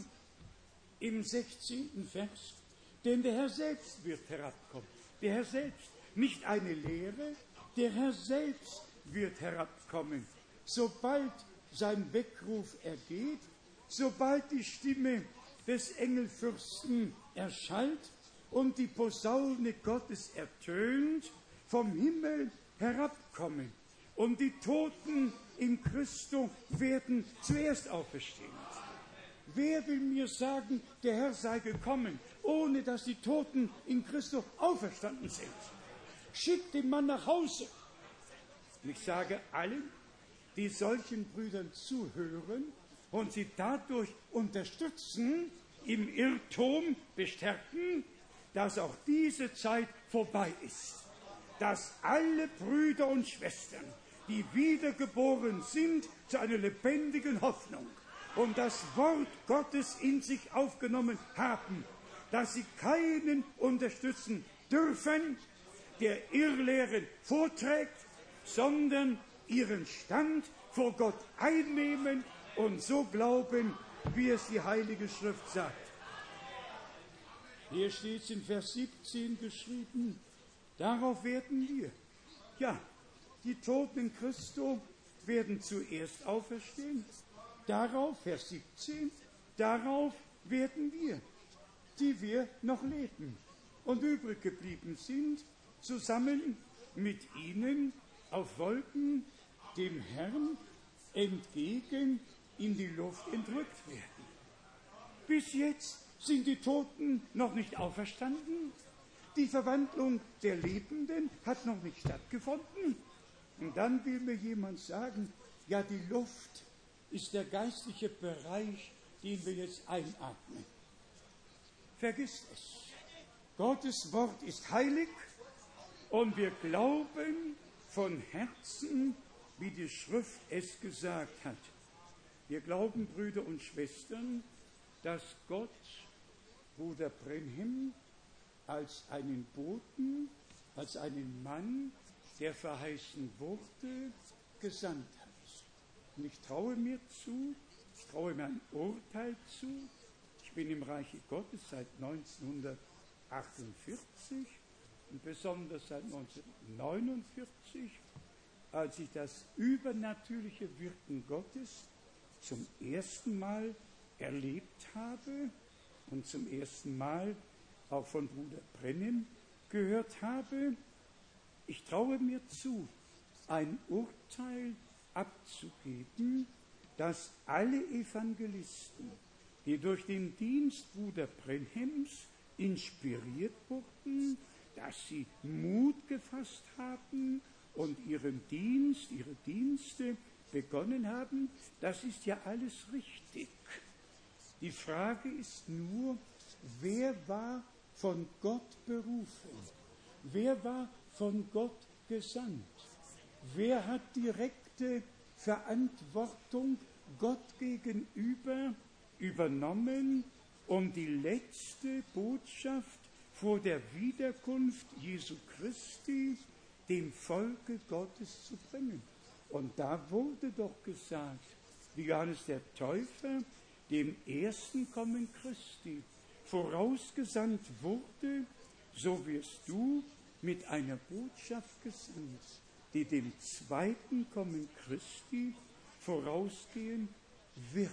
im sechzehnten Vers, denn der Herr selbst wird herabkommen. Der Herr selbst, nicht eine Lehre, der Herr selbst wird herabkommen. Sobald sein Weckruf ergeht, sobald die Stimme des Engelfürsten erschallt und die Posaune Gottes ertönt, vom Himmel herabkommen. Und die Toten in Christo werden zuerst auferstehen. Wer will mir sagen, der Herr sei gekommen, ohne dass die Toten in Christus auferstanden sind? Schickt den Mann nach Hause. Und ich sage allen, die solchen Brüdern zuhören und sie dadurch unterstützen, im Irrtum bestärken, dass auch diese Zeit vorbei ist. Dass alle Brüder und Schwestern, die wiedergeboren sind, zu einer lebendigen Hoffnung und das Wort Gottes in sich aufgenommen haben, dass sie keinen unterstützen dürfen, der Irrlehren vorträgt, sondern ihren Stand vor Gott einnehmen und so glauben, wie es die Heilige Schrift sagt. Hier steht es in Vers siebzehn geschrieben, darauf werden wir, ja, die Toten in Christo werden zuerst auferstehen. Darauf, Vers siebzehn, darauf werden wir, die wir noch leben und übrig geblieben sind, zusammen mit ihnen auf Wolken dem Herrn entgegen in die Luft entrückt werden. Bis jetzt sind die Toten noch nicht auferstanden. Die Verwandlung der Lebenden hat noch nicht stattgefunden. Und dann will mir jemand sagen, ja, die Luft ist der geistliche Bereich, den wir jetzt einatmen. Vergiss es. Gottes Wort ist heilig und wir glauben von Herzen, wie die Schrift es gesagt hat. Wir glauben, Brüder und Schwestern, dass Gott Bruder Branham als einen Boten, als einen Mann, der verheißen wurde, gesandt hat. Und ich traue mir zu, ich traue mir ein Urteil zu. Ich bin im Reiche Gottes seit neunzehnhundertachtundvierzig und besonders seit neunzehnhundertneunundvierzig, als ich das übernatürliche Wirken Gottes zum ersten Mal erlebt habe und zum ersten Mal auch von Bruder Branham gehört habe. Ich traue mir zu, ein Urteil abzugeben, dass alle Evangelisten, die durch den Dienst Bruder Branhams inspiriert wurden, dass sie Mut gefasst haben und ihren Dienst, ihre Dienste begonnen haben, das ist ja alles richtig. Die Frage ist nur, wer war von Gott berufen? Wer war von Gott gesandt? Wer hat direkte Verantwortung Gott gegenüber übernommen, um die letzte Botschaft vor der Wiederkunft Jesu Christi dem Volke Gottes zu bringen? Und da wurde doch gesagt, wie Johannes der Täufer dem ersten Kommen Christi vorausgesandt wurde, so wirst du mit einer Botschaft gesandt, die dem zweiten Kommen Christi vorausgehen wird.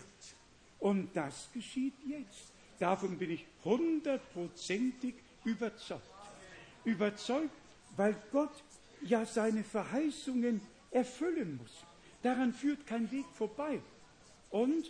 Und das geschieht jetzt. Davon bin ich hundertprozentig überzeugt. Überzeugt, weil Gott ja seine Verheißungen erfüllen muss. Daran führt kein Weg vorbei. Und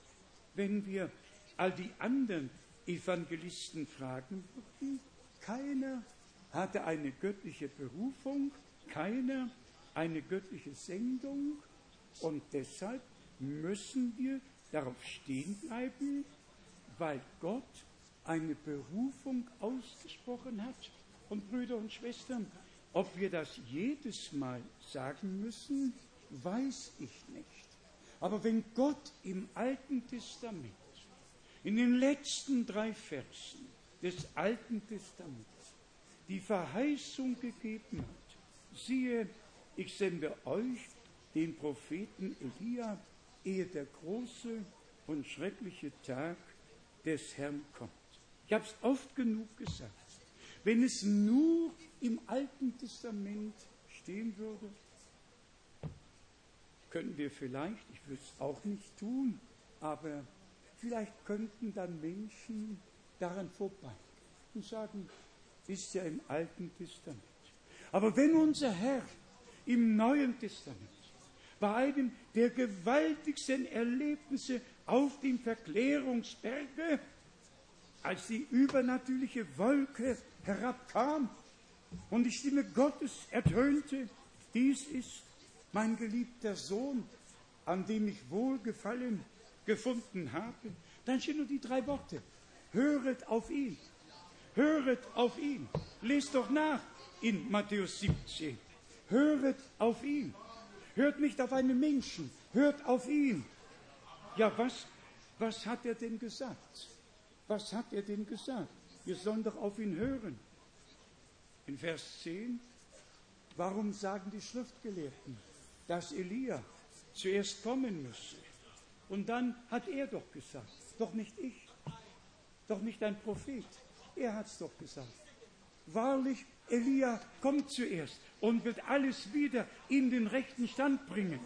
wenn wir all die anderen Evangelisten fragen würden, keiner hatte eine göttliche Berufung, keiner eine göttliche Sendung, und deshalb müssen wir darauf stehen bleiben, weil Gott eine Berufung ausgesprochen hat. Und Brüder und Schwestern, ob wir das jedes Mal sagen müssen, weiß ich nicht. Aber wenn Gott im Alten Testament, in den letzten drei Versen des Alten Testaments, die Verheißung gegeben hat, siehe, ich sende euch den Propheten Elia, ehe der große und schreckliche Tag des Herrn kommt. Ich habe es oft genug gesagt. Wenn es nur im Alten Testament stehen würde, könnten wir vielleicht, ich würde es auch nicht tun, aber vielleicht könnten dann Menschen daran vorbeigehen und sagen, ist ja im Alten Testament. Aber wenn unser Herr im Neuen Testament bei einem der gewaltigsten Erlebnisse auf dem Verklärungsberge, als die übernatürliche Wolke herabkam und die Stimme Gottes ertönte: Dies ist mein geliebter Sohn, an dem ich Wohlgefallen gefunden habe. Dann stehen nur die drei Worte: Höret auf ihn, höret auf ihn. Lest doch nach in Matthäus siebzehn. Höret auf ihn. Hört nicht auf einen Menschen, hört auf ihn. Ja, was, was hat er denn gesagt? Was hat er denn gesagt? Wir sollen doch auf ihn hören. In Vers zehn, warum sagen die Schriftgelehrten, dass Elia zuerst kommen müsse? Und dann hat er doch gesagt, doch nicht ich, doch nicht ein Prophet, er hat es doch gesagt. Wahrlich, Elia kommt zuerst und wird alles wieder in den rechten Stand bringen.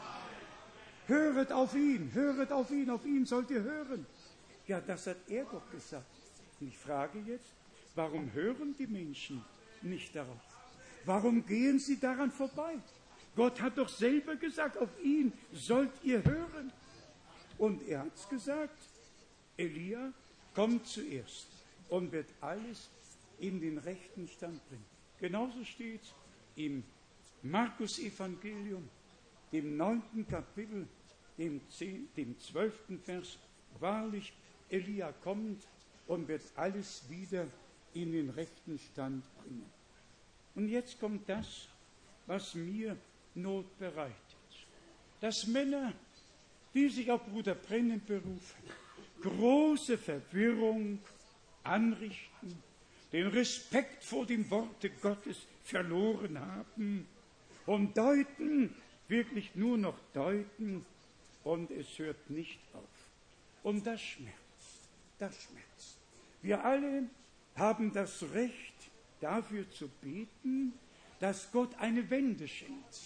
Höret auf ihn, höret auf ihn, auf ihn sollt ihr hören. Ja, das hat er doch gesagt. Und ich frage jetzt, warum hören die Menschen nicht darauf? Warum gehen sie daran vorbei? Gott hat doch selber gesagt, auf ihn sollt ihr hören. Und er hat es gesagt, Elia kommt zuerst und wird alles in den rechten Stand bringen. Genauso steht im Markus-Evangelium, dem neunten Kapitel, dem, zehn, dem zwölften Vers, wahrlich, Elia kommt und wird alles wieder in den rechten Stand bringen. Und jetzt kommt das, was mir Not bereitet. Dass Männer, die sich auf Bruder Brennan berufen, große Verwirrung anrichten, den Respekt vor dem Worte Gottes verloren haben und deuten, wirklich nur noch deuten, und es hört nicht auf. Und das schmerzt, das schmerzt. Wir alle haben das Recht, dafür zu beten, dass Gott eine Wende schenkt.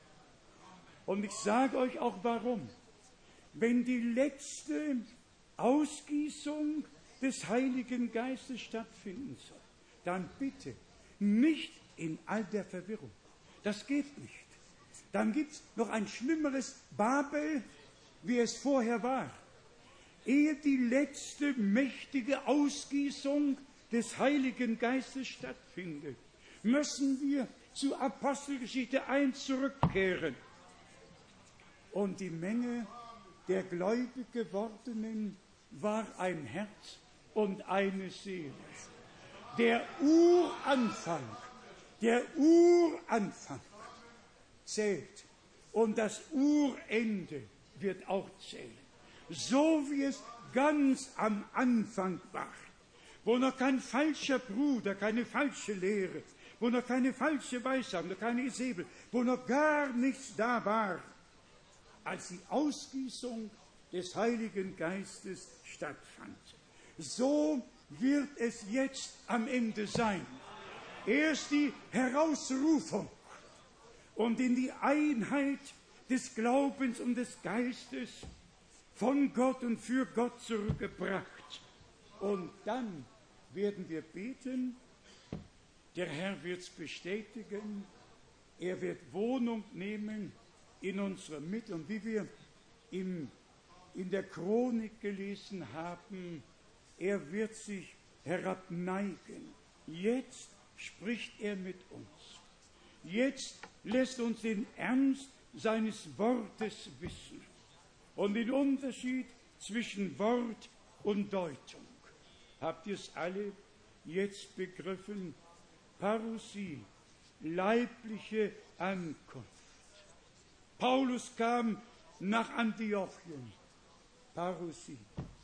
Und ich sage euch auch warum. Wenn die letzte Ausgießung des Heiligen Geistes stattfinden soll, dann bitte nicht in all der Verwirrung. Das geht nicht. Dann gibt es noch ein schlimmeres Babel, wie es vorher war. Ehe die letzte mächtige Ausgießung des Heiligen Geistes stattfindet, müssen wir zu Apostelgeschichte eins zurückkehren. Und die Menge der gläubig gewordenen war ein Herz und eine Seele. Der Uranfang, der Uranfang zählt und das Urende wird auch zählen. So wie es ganz am Anfang war, wo noch kein falscher Bruder, keine falsche Lehre, wo noch keine falsche Weissagung, noch keine Isabel, wo noch gar nichts da war, als die Ausgießung des Heiligen Geistes stattfand. So wird es jetzt am Ende sein. Erst die Herausrufung und in die Einheit des Glaubens und des Geistes von Gott und für Gott zurückgebracht. Und dann werden wir beten, der Herr wird es bestätigen, er wird Wohnung nehmen in unserer Mitte. Und wie wir im, in der Chronik gelesen haben, er wird sich herabneigen. Jetzt spricht er mit uns. Jetzt lässt uns den Ernst seines Wortes wissen und den Unterschied zwischen Wort und Deutung. Habt ihr es alle jetzt begriffen? Parousie, leibliche Ankunft. Paulus kam nach Antiochien. Parousie,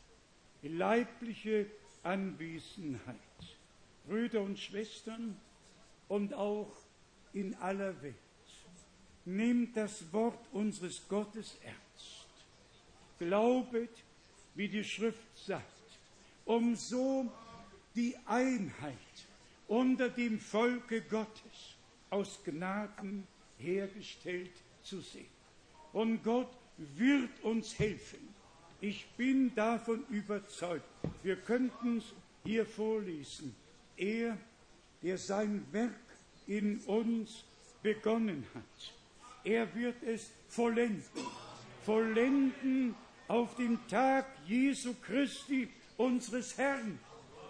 leibliche Anwesenheit. Brüder und Schwestern und auch in aller Welt. Nehmt das Wort unseres Gottes ernst. Glaubet, wie die Schrift sagt, um so die Einheit unter dem Volke Gottes aus Gnaden hergestellt zu sehen. Und Gott wird uns helfen. Ich bin davon überzeugt. Wir könnten es hier vorlesen. Er, der sein Werk in uns begonnen hat, Er wird es vollenden. Vollenden auf dem Tag Jesu Christi, unseres Herrn.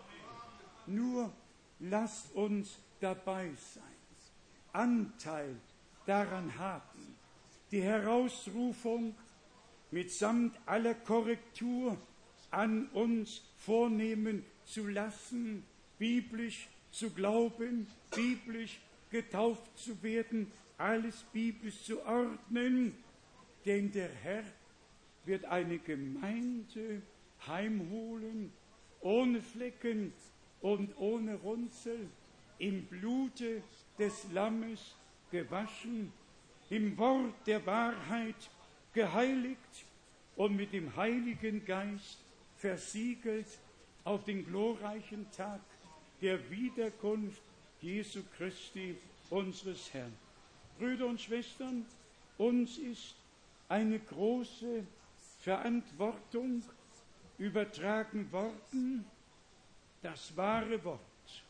Nur lasst uns dabei sein, Anteil daran haben, die Herausrufung mitsamt aller Korrektur an uns vornehmen zu lassen, biblisch zu glauben, biblisch getauft zu werden, alles biblisch zu ordnen, denn der Herr wird eine Gemeinde heimholen, ohne Flecken und ohne Runzel, im Blute des Lammes gewaschen, im Wort der Wahrheit geheiligt und mit dem Heiligen Geist versiegelt auf den glorreichen Tag der Wiederkunft Jesu Christi, unseres Herrn. Brüder und Schwestern, uns ist eine große Verantwortung übertragen worden, das wahre Wort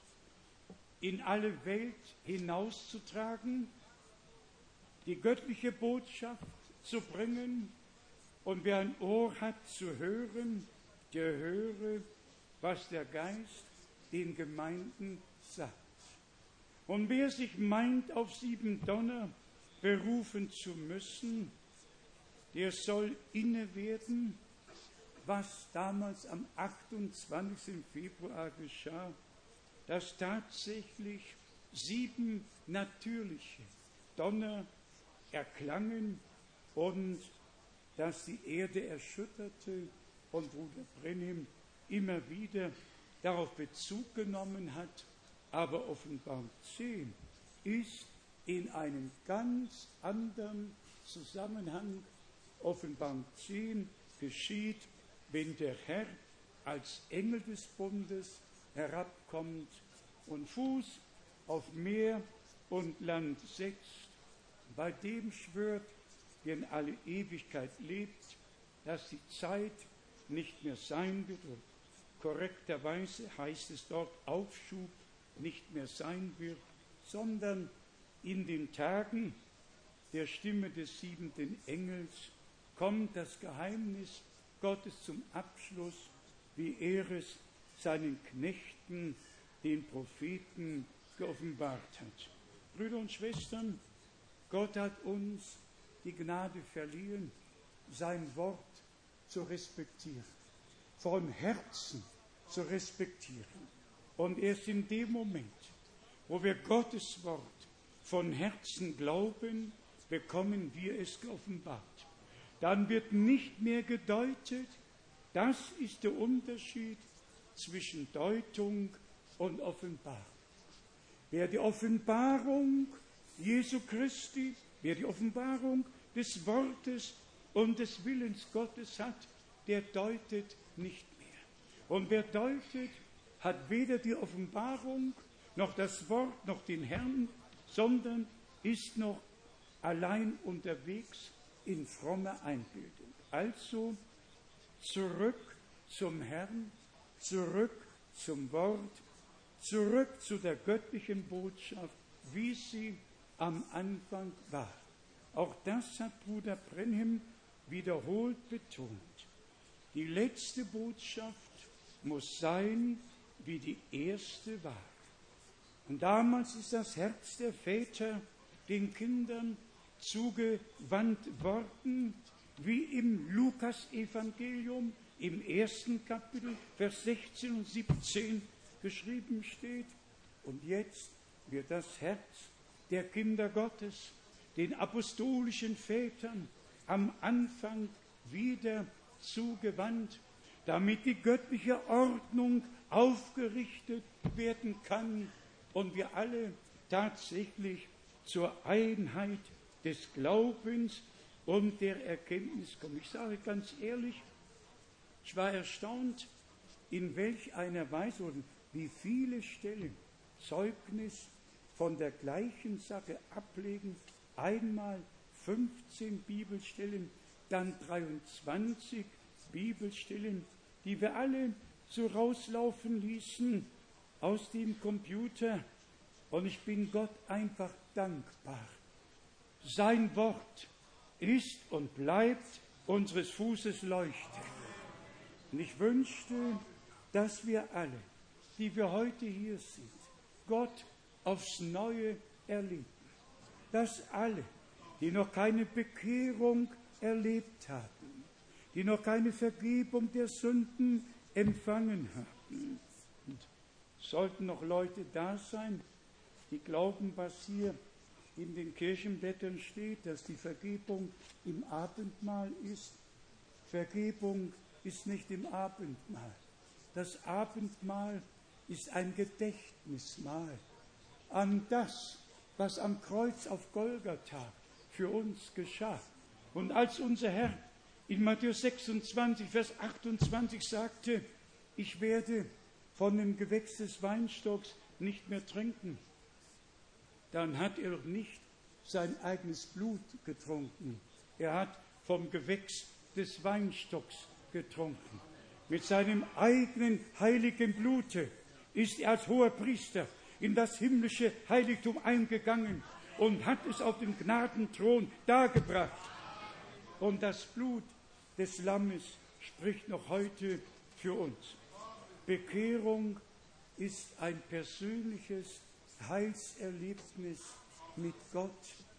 in alle Welt hinauszutragen, die göttliche Botschaft zu bringen, und wer ein Ohr hat zu hören, der höre, was der Geist den Gemeinden sagt. Und wer sich meint, auf sieben Donner berufen zu müssen, der soll inne werden, was damals am achtundzwanzigsten Februar geschah, dass tatsächlich sieben natürliche Donner erklangen und dass die Erde erschütterte, und Bruder Brenhem immer wieder darauf Bezug genommen hat. Aber Offenbarung zehn ist in einem ganz anderen Zusammenhang. Offenbarung zehn geschieht, wenn der Herr als Engel des Bundes herabkommt und Fuß auf Meer und Land setzt, bei dem schwört, der in alle Ewigkeit lebt, dass die Zeit nicht mehr sein wird, und korrekterweise heißt es dort Aufschub nicht mehr sein wird, sondern in den Tagen der Stimme des siebenten Engels kommt das Geheimnis Gottes zum Abschluss, wie er es seinen Knechten, den Propheten, geoffenbart hat. Brüder und Schwestern, Gott hat uns die Gnade verliehen, sein Wort zu respektieren, von Herzen zu respektieren. Und erst in dem Moment, wo wir Gottes Wort von Herzen glauben, bekommen wir es geoffenbart. Dann wird nicht mehr gedeutet. Das ist der Unterschied zwischen Deutung und Offenbarung. Wer die Offenbarung Jesu Christi, wer die Offenbarung des Wortes und des Willens Gottes hat, der deutet nicht mehr. Und wer deutet, hat weder die Offenbarung noch das Wort noch den Herrn, sondern ist noch allein unterwegs in frommer Einbildung. Also zurück zum Herrn, zurück zum Wort, zurück zu der göttlichen Botschaft, wie sie am Anfang war. Auch das hat Bruder Brenhem wiederholt betont. Die letzte Botschaft muss sein, wie die erste war. Und damals ist das Herz der Väter den Kindern zugewandt worden, wie im Lukas-Evangelium im ersten Kapitel, Vers sechzehn und siebzehn geschrieben steht. Und jetzt wird das Herz der Kinder Gottes den apostolischen Vätern am Anfang wieder zugewandt, damit die göttliche Ordnung aufgerichtet werden kann und wir alle tatsächlich zur Einheit des Glaubens und der Erkenntnis kommen. Ich sage ganz ehrlich, ich war erstaunt, in welch einer Weise und wie viele Stellen Zeugnis von der gleichen Sache ablegen. Einmal fünfzehn Bibelstellen, dann dreiundzwanzig Bibelstellen, die wir alle so rauslaufen ließen aus dem Computer. Und ich bin Gott einfach dankbar. Sein Wort ist und bleibt unseres Fußes Leuchte. Und ich wünschte, dass wir alle, die wir heute hier sind, Gott aufs Neue erleben. Dass alle, die noch keine Bekehrung erlebt haben, die noch keine Vergebung der Sünden empfangen haben. Und sollten noch Leute da sein, die glauben, was hier in den Kirchenblättern steht, dass die Vergebung im Abendmahl ist. Vergebung ist nicht im Abendmahl. Das Abendmahl ist ein Gedächtnismahl an das, was am Kreuz auf Golgatha für uns geschah. Und als unser Herr in Matthäus sechsundzwanzig, Vers achtundzwanzig sagte, ich werde von dem Gewächs des Weinstocks nicht mehr trinken, dann hat er doch nicht sein eigenes Blut getrunken. Er hat vom Gewächs des Weinstocks getrunken. Mit seinem eigenen heiligen Blute ist er als hoher Priester in das himmlische Heiligtum eingegangen und hat es auf den Gnadenthron dargebracht. Und das Blut des Lammes spricht noch heute für uns. Bekehrung ist ein persönliches Heilserlebnis mit Gott.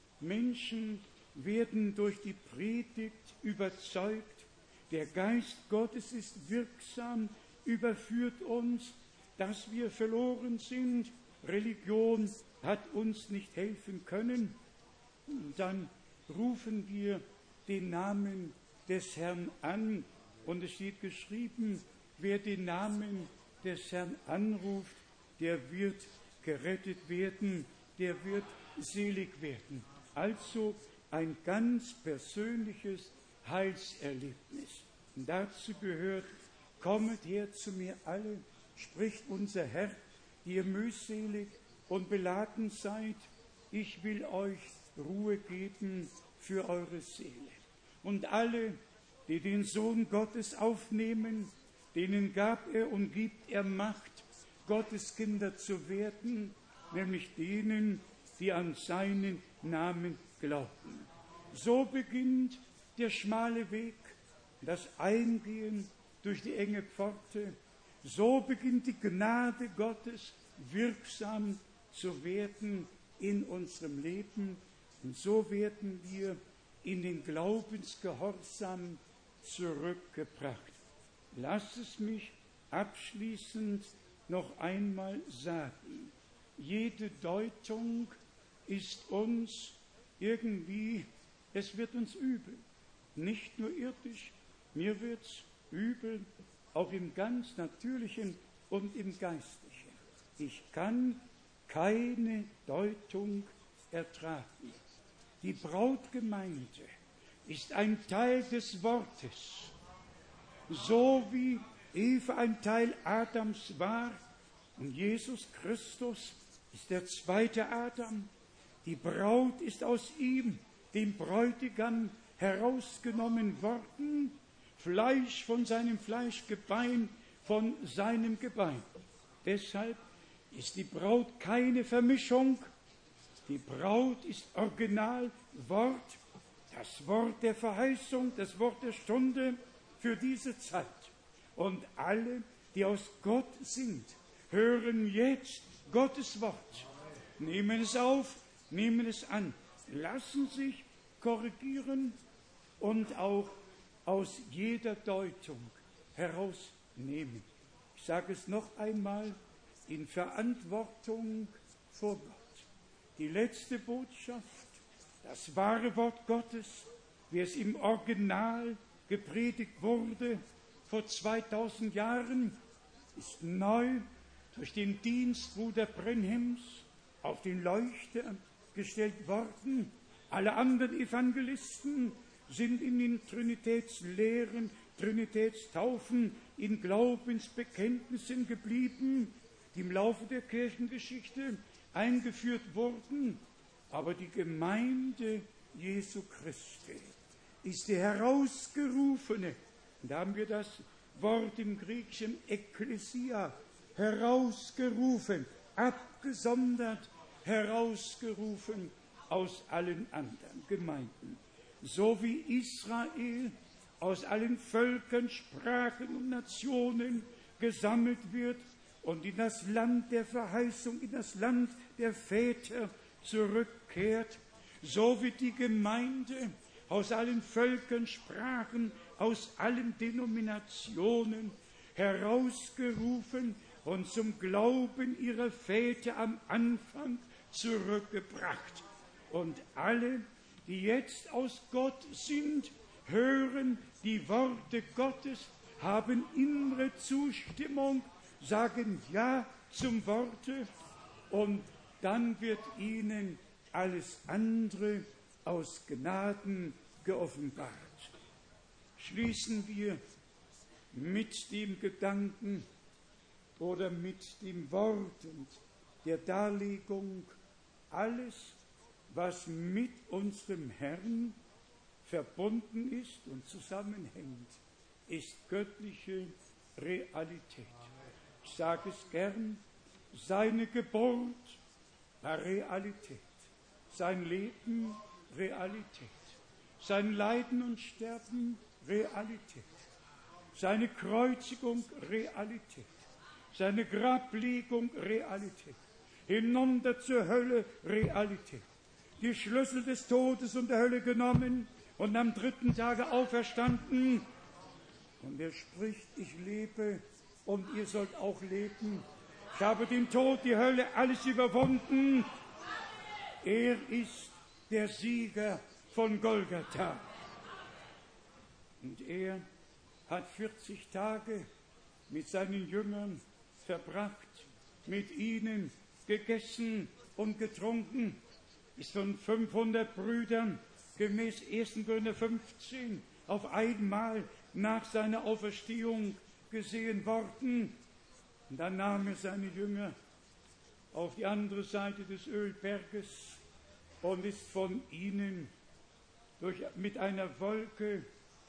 Menschen werden durch die Predigt überzeugt. Der Geist Gottes ist wirksam, überführt uns, dass wir verloren sind. Religion hat uns nicht helfen können. Und dann rufen wir den Namen des Herrn an. Und es steht geschrieben, wer den Namen des Herrn anruft, der wird gerettet werden, der wird selig werden. Also ein ganz persönliches Heilserlebnis. Und dazu gehört, kommet her zu mir alle, spricht unser Herr, die ihr mühselig und beladen seid, ich will euch Ruhe geben für eure Seele. Und alle, die den Sohn Gottes aufnehmen, denen gab er und gibt er Macht, Gottes Kinder zu werden, nämlich denen, die an seinen Namen glauben. So beginnt der schmale Weg, das Eingehen durch die enge Pforte. So beginnt die Gnade Gottes wirksam zu werden in unserem Leben. Und so werden wir in den Glaubensgehorsam zurückgebracht. Lass es mich abschließend noch einmal sagen. Jede Deutung ist uns irgendwie, es wird uns übel. Nicht nur irdisch, mir wird's übel, auch im ganz Natürlichen und im Geistlichen. Ich kann keine Deutung ertragen. Die Brautgemeinde ist ein Teil des Wortes, so wie Eva ein Teil Adams war und Jesus Christus ist der zweite Adam. Die Braut ist aus ihm, dem Bräutigam, herausgenommen worden, Fleisch von seinem Fleisch, Gebein von seinem Gebein. Deshalb ist die Braut keine Vermischung. Die Braut ist Originalwort, das Wort der Verheißung, das Wort der Stunde für diese Zeit. Und alle, die aus Gott sind, hören jetzt Gottes Wort, nehmen es auf, nehmen es an, lassen sich korrigieren und auch aus jeder Deutung herausnehmen. Ich sage es noch einmal, in Verantwortung vor Gott. Die letzte Botschaft, das wahre Wort Gottes, wie es im Original gepredigt wurde vor zweitausend Jahren, ist neu durch den Dienst Bruder Brenhims auf den Leuchter gestellt worden. Alle anderen Evangelisten sind in den Trinitätslehren, Trinitätstaufen, in Glaubensbekenntnissen geblieben, die im Laufe der Kirchengeschichte eingeführt wurden. Aber die Gemeinde Jesu Christi ist die herausgerufene, und da haben wir das Wort im Griechischen Ekklesia, herausgerufen, abgesondert, herausgerufen aus allen anderen Gemeinden. So wie Israel aus allen Völkern, Sprachen und Nationen gesammelt wird und in das Land der Verheißung, in das Land der Väter zurückkehrt, so wird die Gemeinde aus allen Völkern, Sprachen, aus allen Denominationen herausgerufen und zum Glauben ihrer Väter am Anfang zurückgebracht. Und alle, die jetzt aus Gott sind, hören die Worte Gottes, haben innere Zustimmung, sagen Ja zum Worte, und dann wird ihnen alles andere aus Gnaden geoffenbart. Schließen wir mit dem Gedanken oder mit dem Wort und der Darlegung: Alles, was mit unserem Herrn verbunden ist und zusammenhängt, ist göttliche Realität. Ich sage es gern, seine Geburt war Realität, sein Leben Realität, sein Leiden und Sterben Realität, seine Kreuzigung Realität, seine Grablegung Realität, hinunter zur Hölle Realität, die Schlüssel des Todes und der Hölle genommen und am dritten Tage auferstanden. Und er spricht: Ich lebe und ihr sollt auch leben. Ich habe den Tod, die Hölle, alles überwunden. Er ist der Sieger von Golgatha. Und er hat vierzig Tage mit seinen Jüngern verbracht, mit ihnen gegessen und getrunken, ist von fünfhundert Brüdern gemäß ersten Korinther fünfzehn auf einmal nach seiner Auferstehung gesehen worden. Und dann nahm er seine Jünger auf die andere Seite des Ölberges und ist von ihnen durch, mit einer Wolke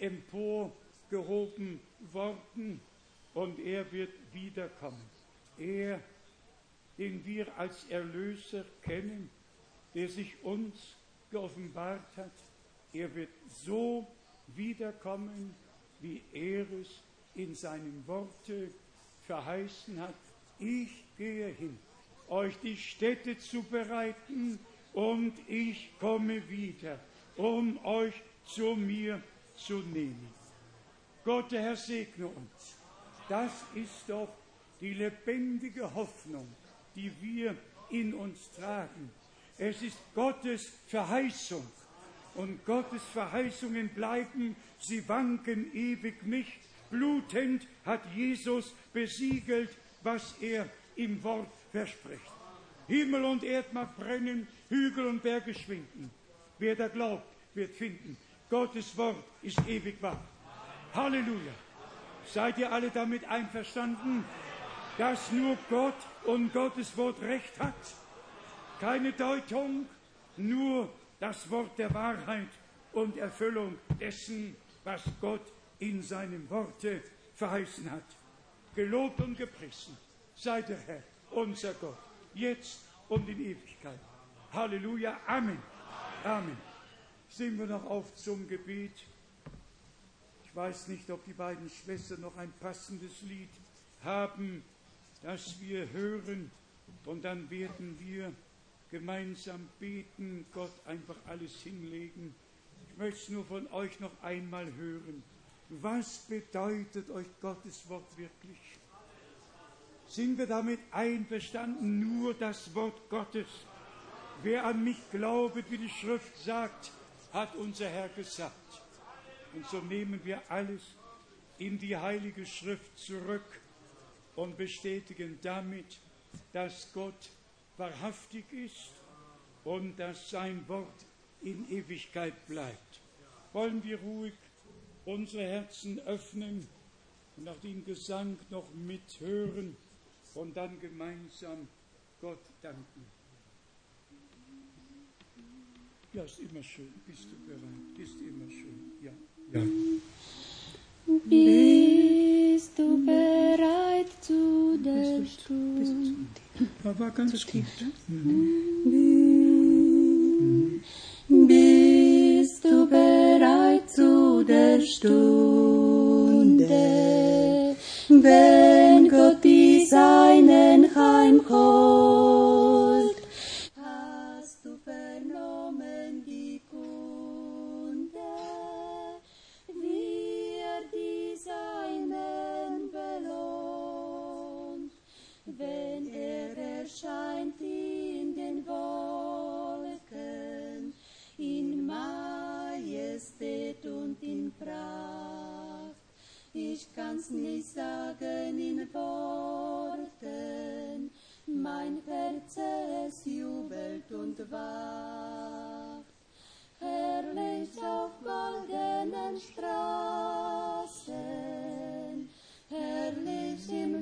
emporgehoben worden, und er wird wiederkommen. Er, den wir als Erlöser kennen, der sich uns geoffenbart hat, er wird so wiederkommen, wie er es in seinem Worte verheißen hat: Ich gehe hin, euch die Stätte zu bereiten, und ich komme wieder, um euch zu mir zu nehmen. Gott, der Herr, segne uns. Das ist doch die lebendige Hoffnung, die wir in uns tragen. Es ist Gottes Verheißung, und Gottes Verheißungen bleiben, sie wanken ewig nicht. Blutend hat Jesus besiegelt, was er im Wort verspricht. Himmel und Erd mag brennen, Hügel und Berge schwinden. Wer da glaubt, wird finden. Gottes Wort ist ewig wahr. Halleluja. Seid ihr alle damit einverstanden, dass nur Gott und Gottes Wort Recht hat? Keine Deutung, nur das Wort der Wahrheit und Erfüllung dessen, was Gott in seinem Worte verheißen hat. Gelobt und gepriesen sei der Herr, unser Gott, jetzt und in Ewigkeit. Halleluja, Amen. Amen. Singen wir noch auf zum Gebet. Ich weiß nicht, ob die beiden Schwestern noch ein passendes Lied haben, das wir hören, und dann werden wir gemeinsam beten, Gott einfach alles hinlegen. Ich möchte es nur von euch noch einmal hören. Was bedeutet euch Gottes Wort wirklich? Sind wir damit einverstanden? Nur das Wort Gottes. Wer an mich glaubet, wie die Schrift sagt, hat unser Herr gesagt. Und so nehmen wir alles in die Heilige Schrift zurück und bestätigen damit, dass Gott wahrhaftig ist und dass sein Wort in Ewigkeit bleibt. Wollen wir ruhig unsere Herzen öffnen und auch den Gesang noch mithören und dann gemeinsam Gott danken. Ja, ist immer schön. Bist du bereit? Ist immer schön. Ja. Ja. Bist du bereit zu der Stunde? Da war ganz tief. Mhm. der Stunde, wenn Gott die Seinen heimholt. Hast du vernommen die Kunde, wie er die Seinen belohnt, wenn er erscheint in den Wolken, in Majestät und in Pracht. Ich kann's nicht sagen in Worten, mein Herz es jubelt und wacht. Herrlich auf goldenen Straßen, herrlich im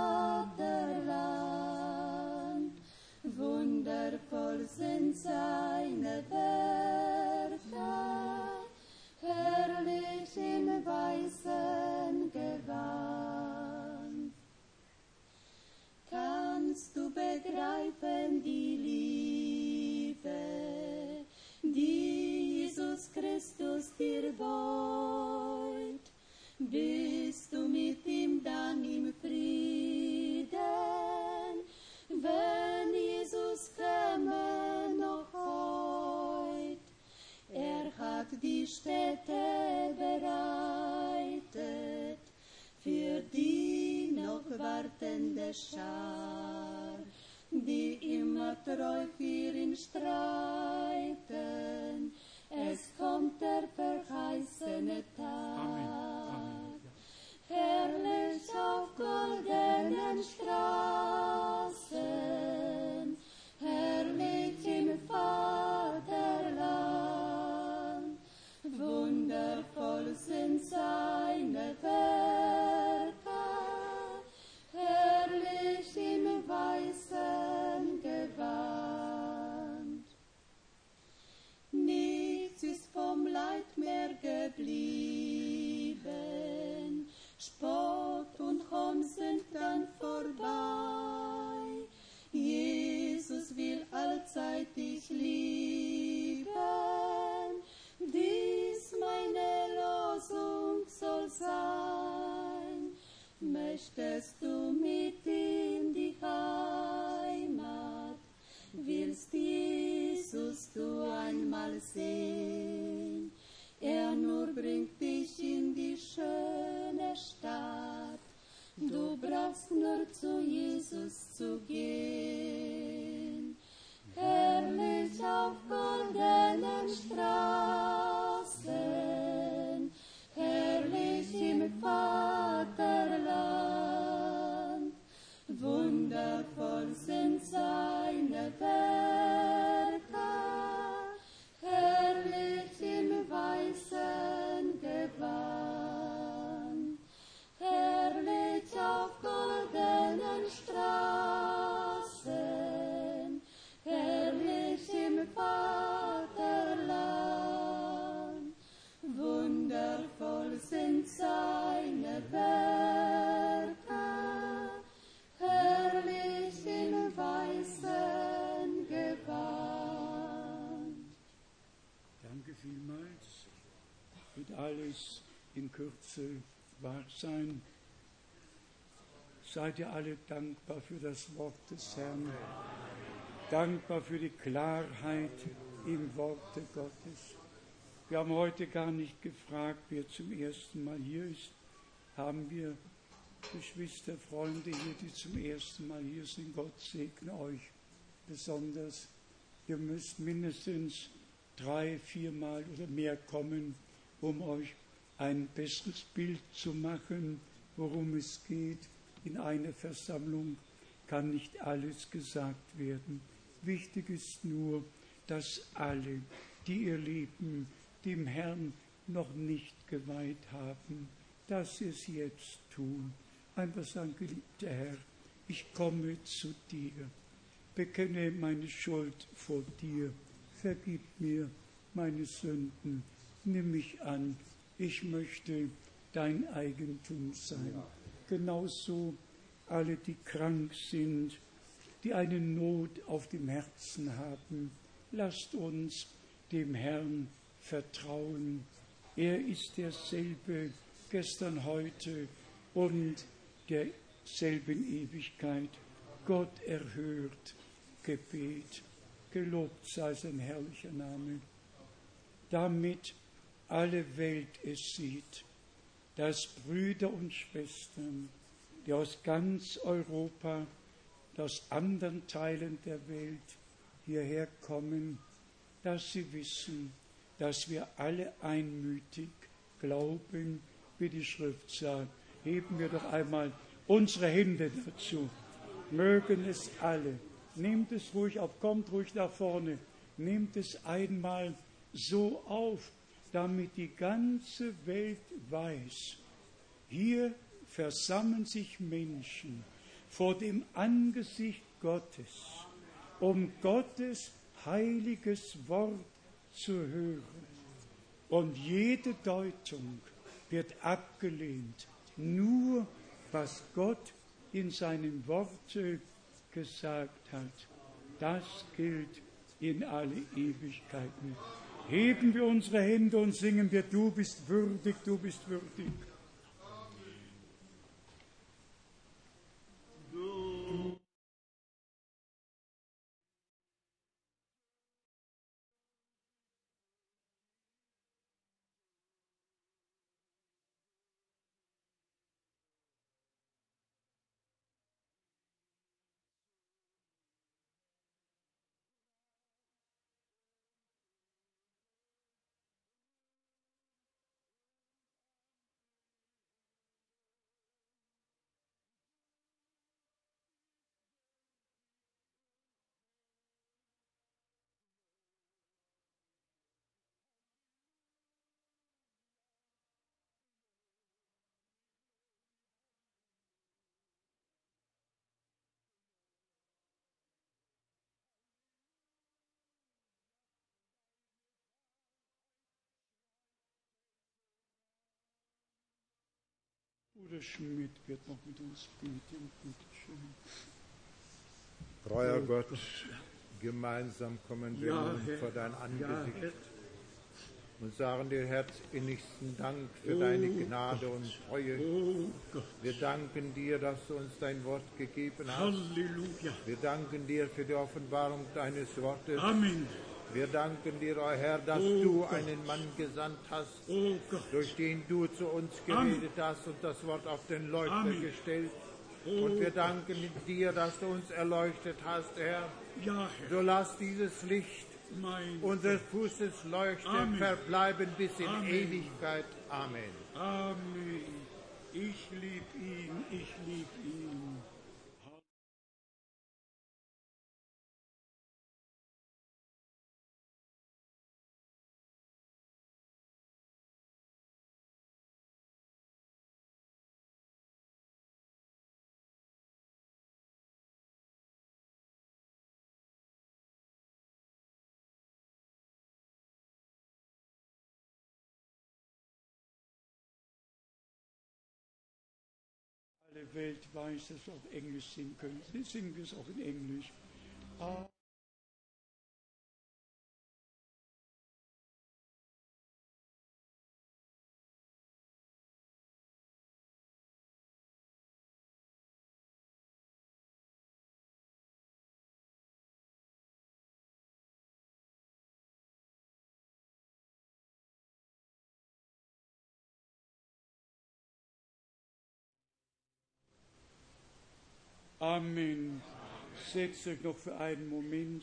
Vaterland, wundervoll sind seine Werke, herrlich im weißen Gewand. Kannst du begreifen die Liebe, die Jesus Christus dir beut? Bist du mit ihm dann im Frieden, wenn Jesus käme noch heut? Er hat die Städte bereitet für die noch wartende Schar, die immer treu für ihn streiten. Es kommt der verheißene Tag. Amen. Herrlich auf goldenen Straßen, herrlich im Vaterland, wundervoll sind seine Werke, herrlich im weißen Gewand. Nichts ist vom Leid mehr geblieben, Spott und Hohn sind dann vorbei. Jesus will allzeit dich lieben, dies meine Losung soll sein. Möchtest du mit in die Heimat, willst Jesus du einmal sehen? Er nur bringt dich in die schöne Stadt, du brauchst nur zu Jesus zu gehen. Herrlich auf goldenen Straßen, herrlich im Vaterland, wundervoll sind seine Werke, herrlich im weißen Gewand, herrlich auf goldenen Straßen, herrlich im Vaterland, wundervoll sind seine Werke, herrlich im weißen Gewand. Danke vielmals. Wird alles in Kürze wahr sein. Seid ihr alle dankbar für das Wort des Herrn, dankbar für die Klarheit im Worte Gottes. Wir haben heute gar nicht gefragt, wer zum ersten Mal hier ist. Haben wir Geschwister, Freunde hier, die zum ersten Mal hier sind? Gott segne euch besonders. Ihr müsst mindestens drei, viermal oder mehr kommen, um euch ein besseres Bild zu machen, worum es geht. In einer Versammlung kann nicht alles gesagt werden. Wichtig ist nur, dass alle, die ihr Leben dem Herrn noch nicht geweiht haben, dass sie es jetzt tun. Einfach sagen, geliebter Herr, ich komme zu dir, bekenne meine Schuld vor dir, vergib mir meine Sünden, nimm mich an, ich möchte dein Eigentum sein. Ja. Genauso alle, die krank sind, die eine Not auf dem Herzen haben, lasst uns dem Herrn vertrauen. Er ist derselbe gestern, heute und derselben Ewigkeit. Gott erhört Gebet. Gelobt sei sein herrlicher Name. Damit alle Welt es sieht, dass Brüder und Schwestern, die aus ganz Europa, aus anderen Teilen der Welt hierher kommen, dass sie wissen, dass wir alle einmütig glauben, wie die Schrift sagt. Heben wir doch einmal unsere Hände dazu. Mögen es alle. Nehmt es ruhig auf, kommt ruhig nach vorne. Nehmt es einmal so auf, damit die ganze Welt weiß, hier versammeln sich Menschen vor dem Angesicht Gottes, um Gottes heiliges Wort zu hören. Und jede Deutung wird abgelehnt. Nur was Gott in seinem Worte gesagt hat, das gilt in alle Ewigkeiten. Heben wir unsere Hände und singen wir, du bist würdig, du bist würdig. Bruder Schmidt wird noch mit uns beten. Bitte schön. Treuer Gott, gemeinsam kommen wir Ja, nun Herr. vor dein Ja, Angesicht Herr. und sagen dir herzinnigsten Dank für Oh deine Gnade und Treue. Oh Gott, Wir danken dir, dass du uns dein Wort gegeben hast. Halleluja. Wir danken dir für die Offenbarung deines Wortes. Amen. Wir danken dir, o Herr, dass Oh du Gott. einen Mann gesandt hast, Oh Gott. durch den du zu uns Amen. geredet hast und das Wort auf den Leuchter Amen. gestellt. Oh Und wir danken dir, dass du uns erleuchtet hast, Herr. Ja, Herr. So lass dieses Licht Mein unseres Fußes leuchten, Amen. verbleiben bis in Amen. Ewigkeit. Amen. Amen. Ich lieb ihn, ich lieb ihn. Alle Welt weiß, dass wir auf Englisch singen können. Jetzt singen wir es auch in Englisch. Ah. Amen. Setzt euch noch für einen Moment.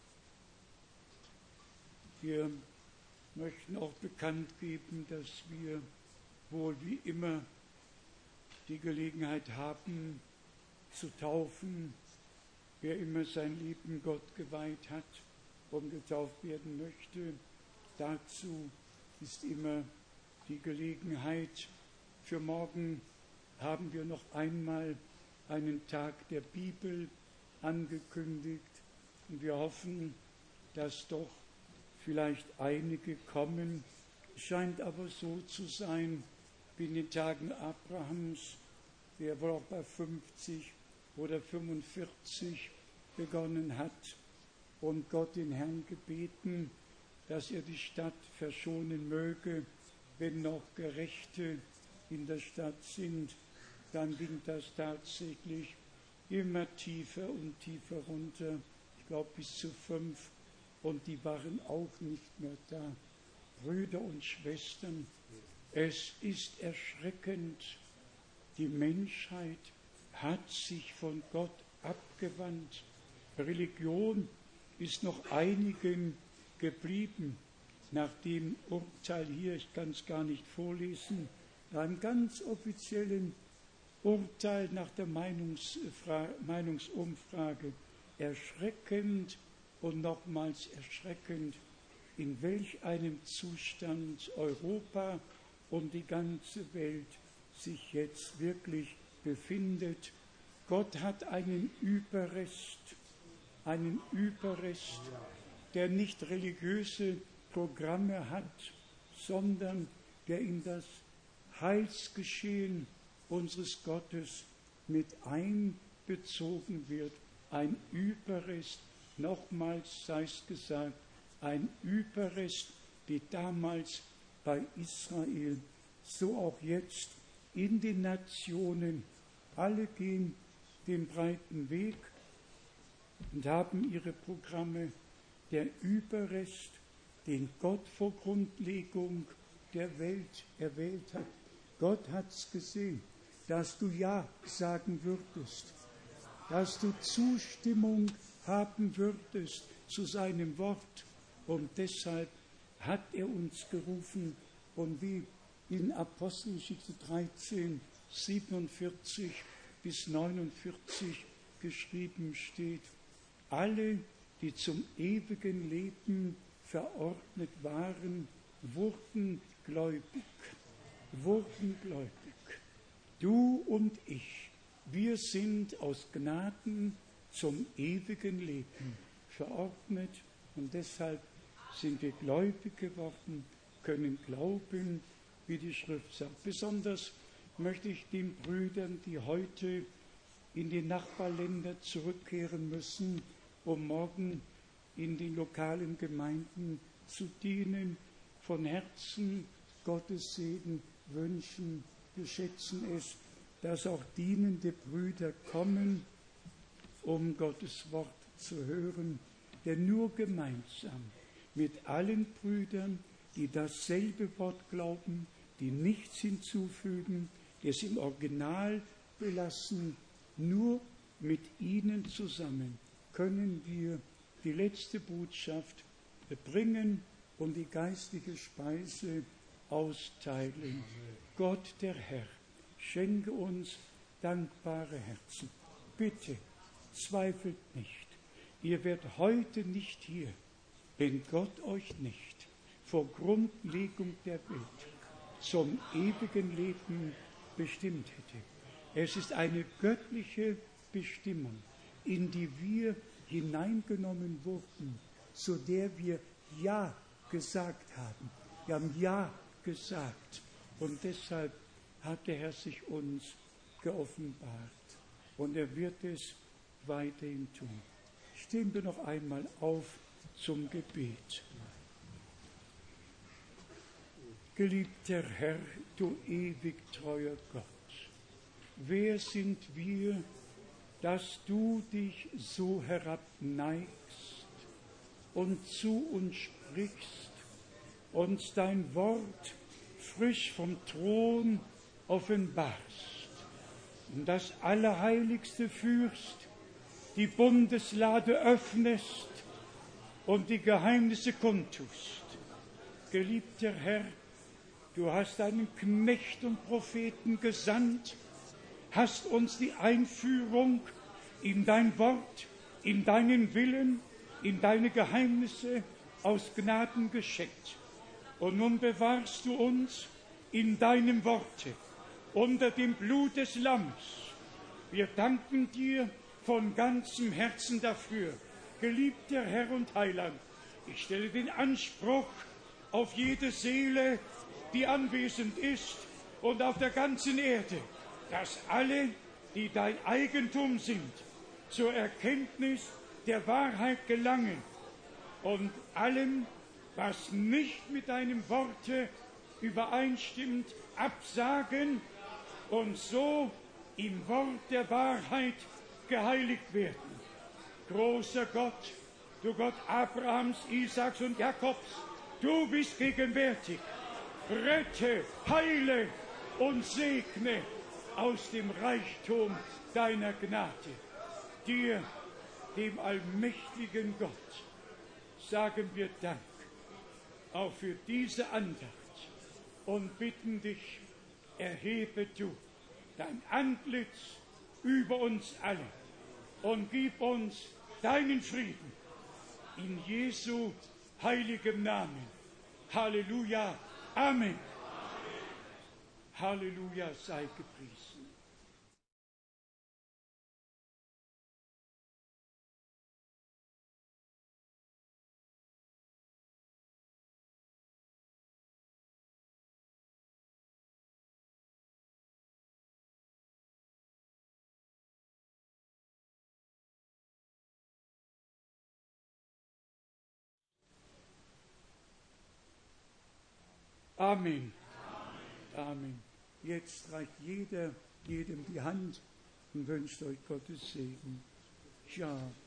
Wir möchten auch bekannt geben, dass wir wohl wie immer die Gelegenheit haben, zu taufen, wer immer sein Leben Gott geweiht hat und getauft werden möchte. Dazu ist immer die Gelegenheit. Für morgen haben wir noch einmal einen Tag der Bibel angekündigt und wir hoffen, dass doch vielleicht einige kommen. Es scheint aber so zu sein, wie in den Tagen Abrahams, der wohl auch bei fünfzig oder fünfundvierzig begonnen hat und Gott den Herrn gebeten, dass er die Stadt verschonen möge, wenn noch Gerechte in der Stadt sind, dann ging das tatsächlich immer tiefer und tiefer runter. Ich glaube bis zu fünf. Und die waren auch nicht mehr da. Brüder und Schwestern, es ist erschreckend. Die Menschheit hat sich von Gott abgewandt. Religion ist noch einigen geblieben. Nach dem Urteil hier, ich kann es gar nicht vorlesen, nach einem ganz offiziellen Urteil nach der Meinungsfra- Meinungsumfrage, erschreckend und nochmals erschreckend, in welch einem Zustand Europa und die ganze Welt sich jetzt wirklich befindet. Gott hat einen Überrest, einen Überrest, der nicht religiöse Programme hat, sondern der in das Heilsgeschehen unseres Gottes mit einbezogen wird. Ein Überrest, nochmals sei es gesagt, ein Überrest, wie damals bei Israel, so auch jetzt in den Nationen. Alle gehen den breiten Weg und haben ihre Programme. Der Überrest, den Gott vor Grundlegung der Welt erwählt hat. Gott hat es gesehen, dass du Ja sagen würdest, dass du Zustimmung haben würdest zu seinem Wort. Und deshalb hat er uns gerufen. Und wie in Apostelgeschichte dreizehn, siebenundvierzig bis neunundvierzig geschrieben steht, alle, die zum ewigen Leben verordnet waren, wurden gläubig, wurden gläubig. Du und ich, wir sind aus Gnaden zum ewigen Leben verordnet und deshalb sind wir gläubig geworden, können glauben, wie die Schrift sagt. Besonders möchte ich den Brüdern, die heute in die Nachbarländer zurückkehren müssen, um morgen in den lokalen Gemeinden zu dienen, von Herzen Gottes Segen wünschen. Wir schätzen es, dass auch dienende Brüder kommen, um Gottes Wort zu hören, denn nur gemeinsam mit allen Brüdern, die dasselbe Wort glauben, die nichts hinzufügen, die es im Original belassen, nur mit ihnen zusammen können wir die letzte Botschaft bringen und die geistliche Speise austeilen. Gott, der Herr, schenke uns dankbare Herzen. Bitte, zweifelt nicht. Ihr werdet heute nicht hier, wenn Gott euch nicht vor Grundlegung der Welt zum ewigen Leben bestimmt hätte. Es ist eine göttliche Bestimmung, in die wir hineingenommen wurden, zu der wir Ja gesagt haben. Wir haben Ja gesagt und deshalb hat der Herr sich uns geoffenbart und er wird es weiterhin tun. Stehen wir noch einmal auf zum Gebet. Geliebter Herr, du ewig treuer Gott, wer sind wir, dass du dich so herabneigst und zu uns sprichst, uns dein Wort frisch vom Thron offenbarst und das Allerheiligste führst, die Bundeslade öffnest und die Geheimnisse kundtust. Geliebter Herr, du hast einen Knecht und Propheten gesandt, hast uns die Einführung in dein Wort, in deinen Willen, in deine Geheimnisse aus Gnaden geschenkt. Und nun bewahrst du uns in deinem Worte, unter dem Blut des Lamms. Wir danken dir von ganzem Herzen dafür. Geliebter Herr und Heiland, ich stelle den Anspruch auf jede Seele, die anwesend ist und auf der ganzen Erde, dass alle, die dein Eigentum sind, zur Erkenntnis der Wahrheit gelangen und allem, was nicht mit deinem Worte übereinstimmend absagen und so im Wort der Wahrheit geheiligt werden. Großer Gott, du Gott Abrahams, Isaaks und Jakobs, du bist gegenwärtig. Rette, heile und segne aus dem Reichtum deiner Gnade. Dir, dem allmächtigen Gott, sagen wir Dank, auch für diese Andacht, und bitten dich, erhebe du dein Antlitz über uns alle und gib uns deinen Frieden. In Jesu heiligem Namen. Halleluja. Amen. Halleluja, sei gepriesen. Amen. Amen. Jetzt reicht jeder jedem die Hand und wünscht euch Gottes Segen. Ja.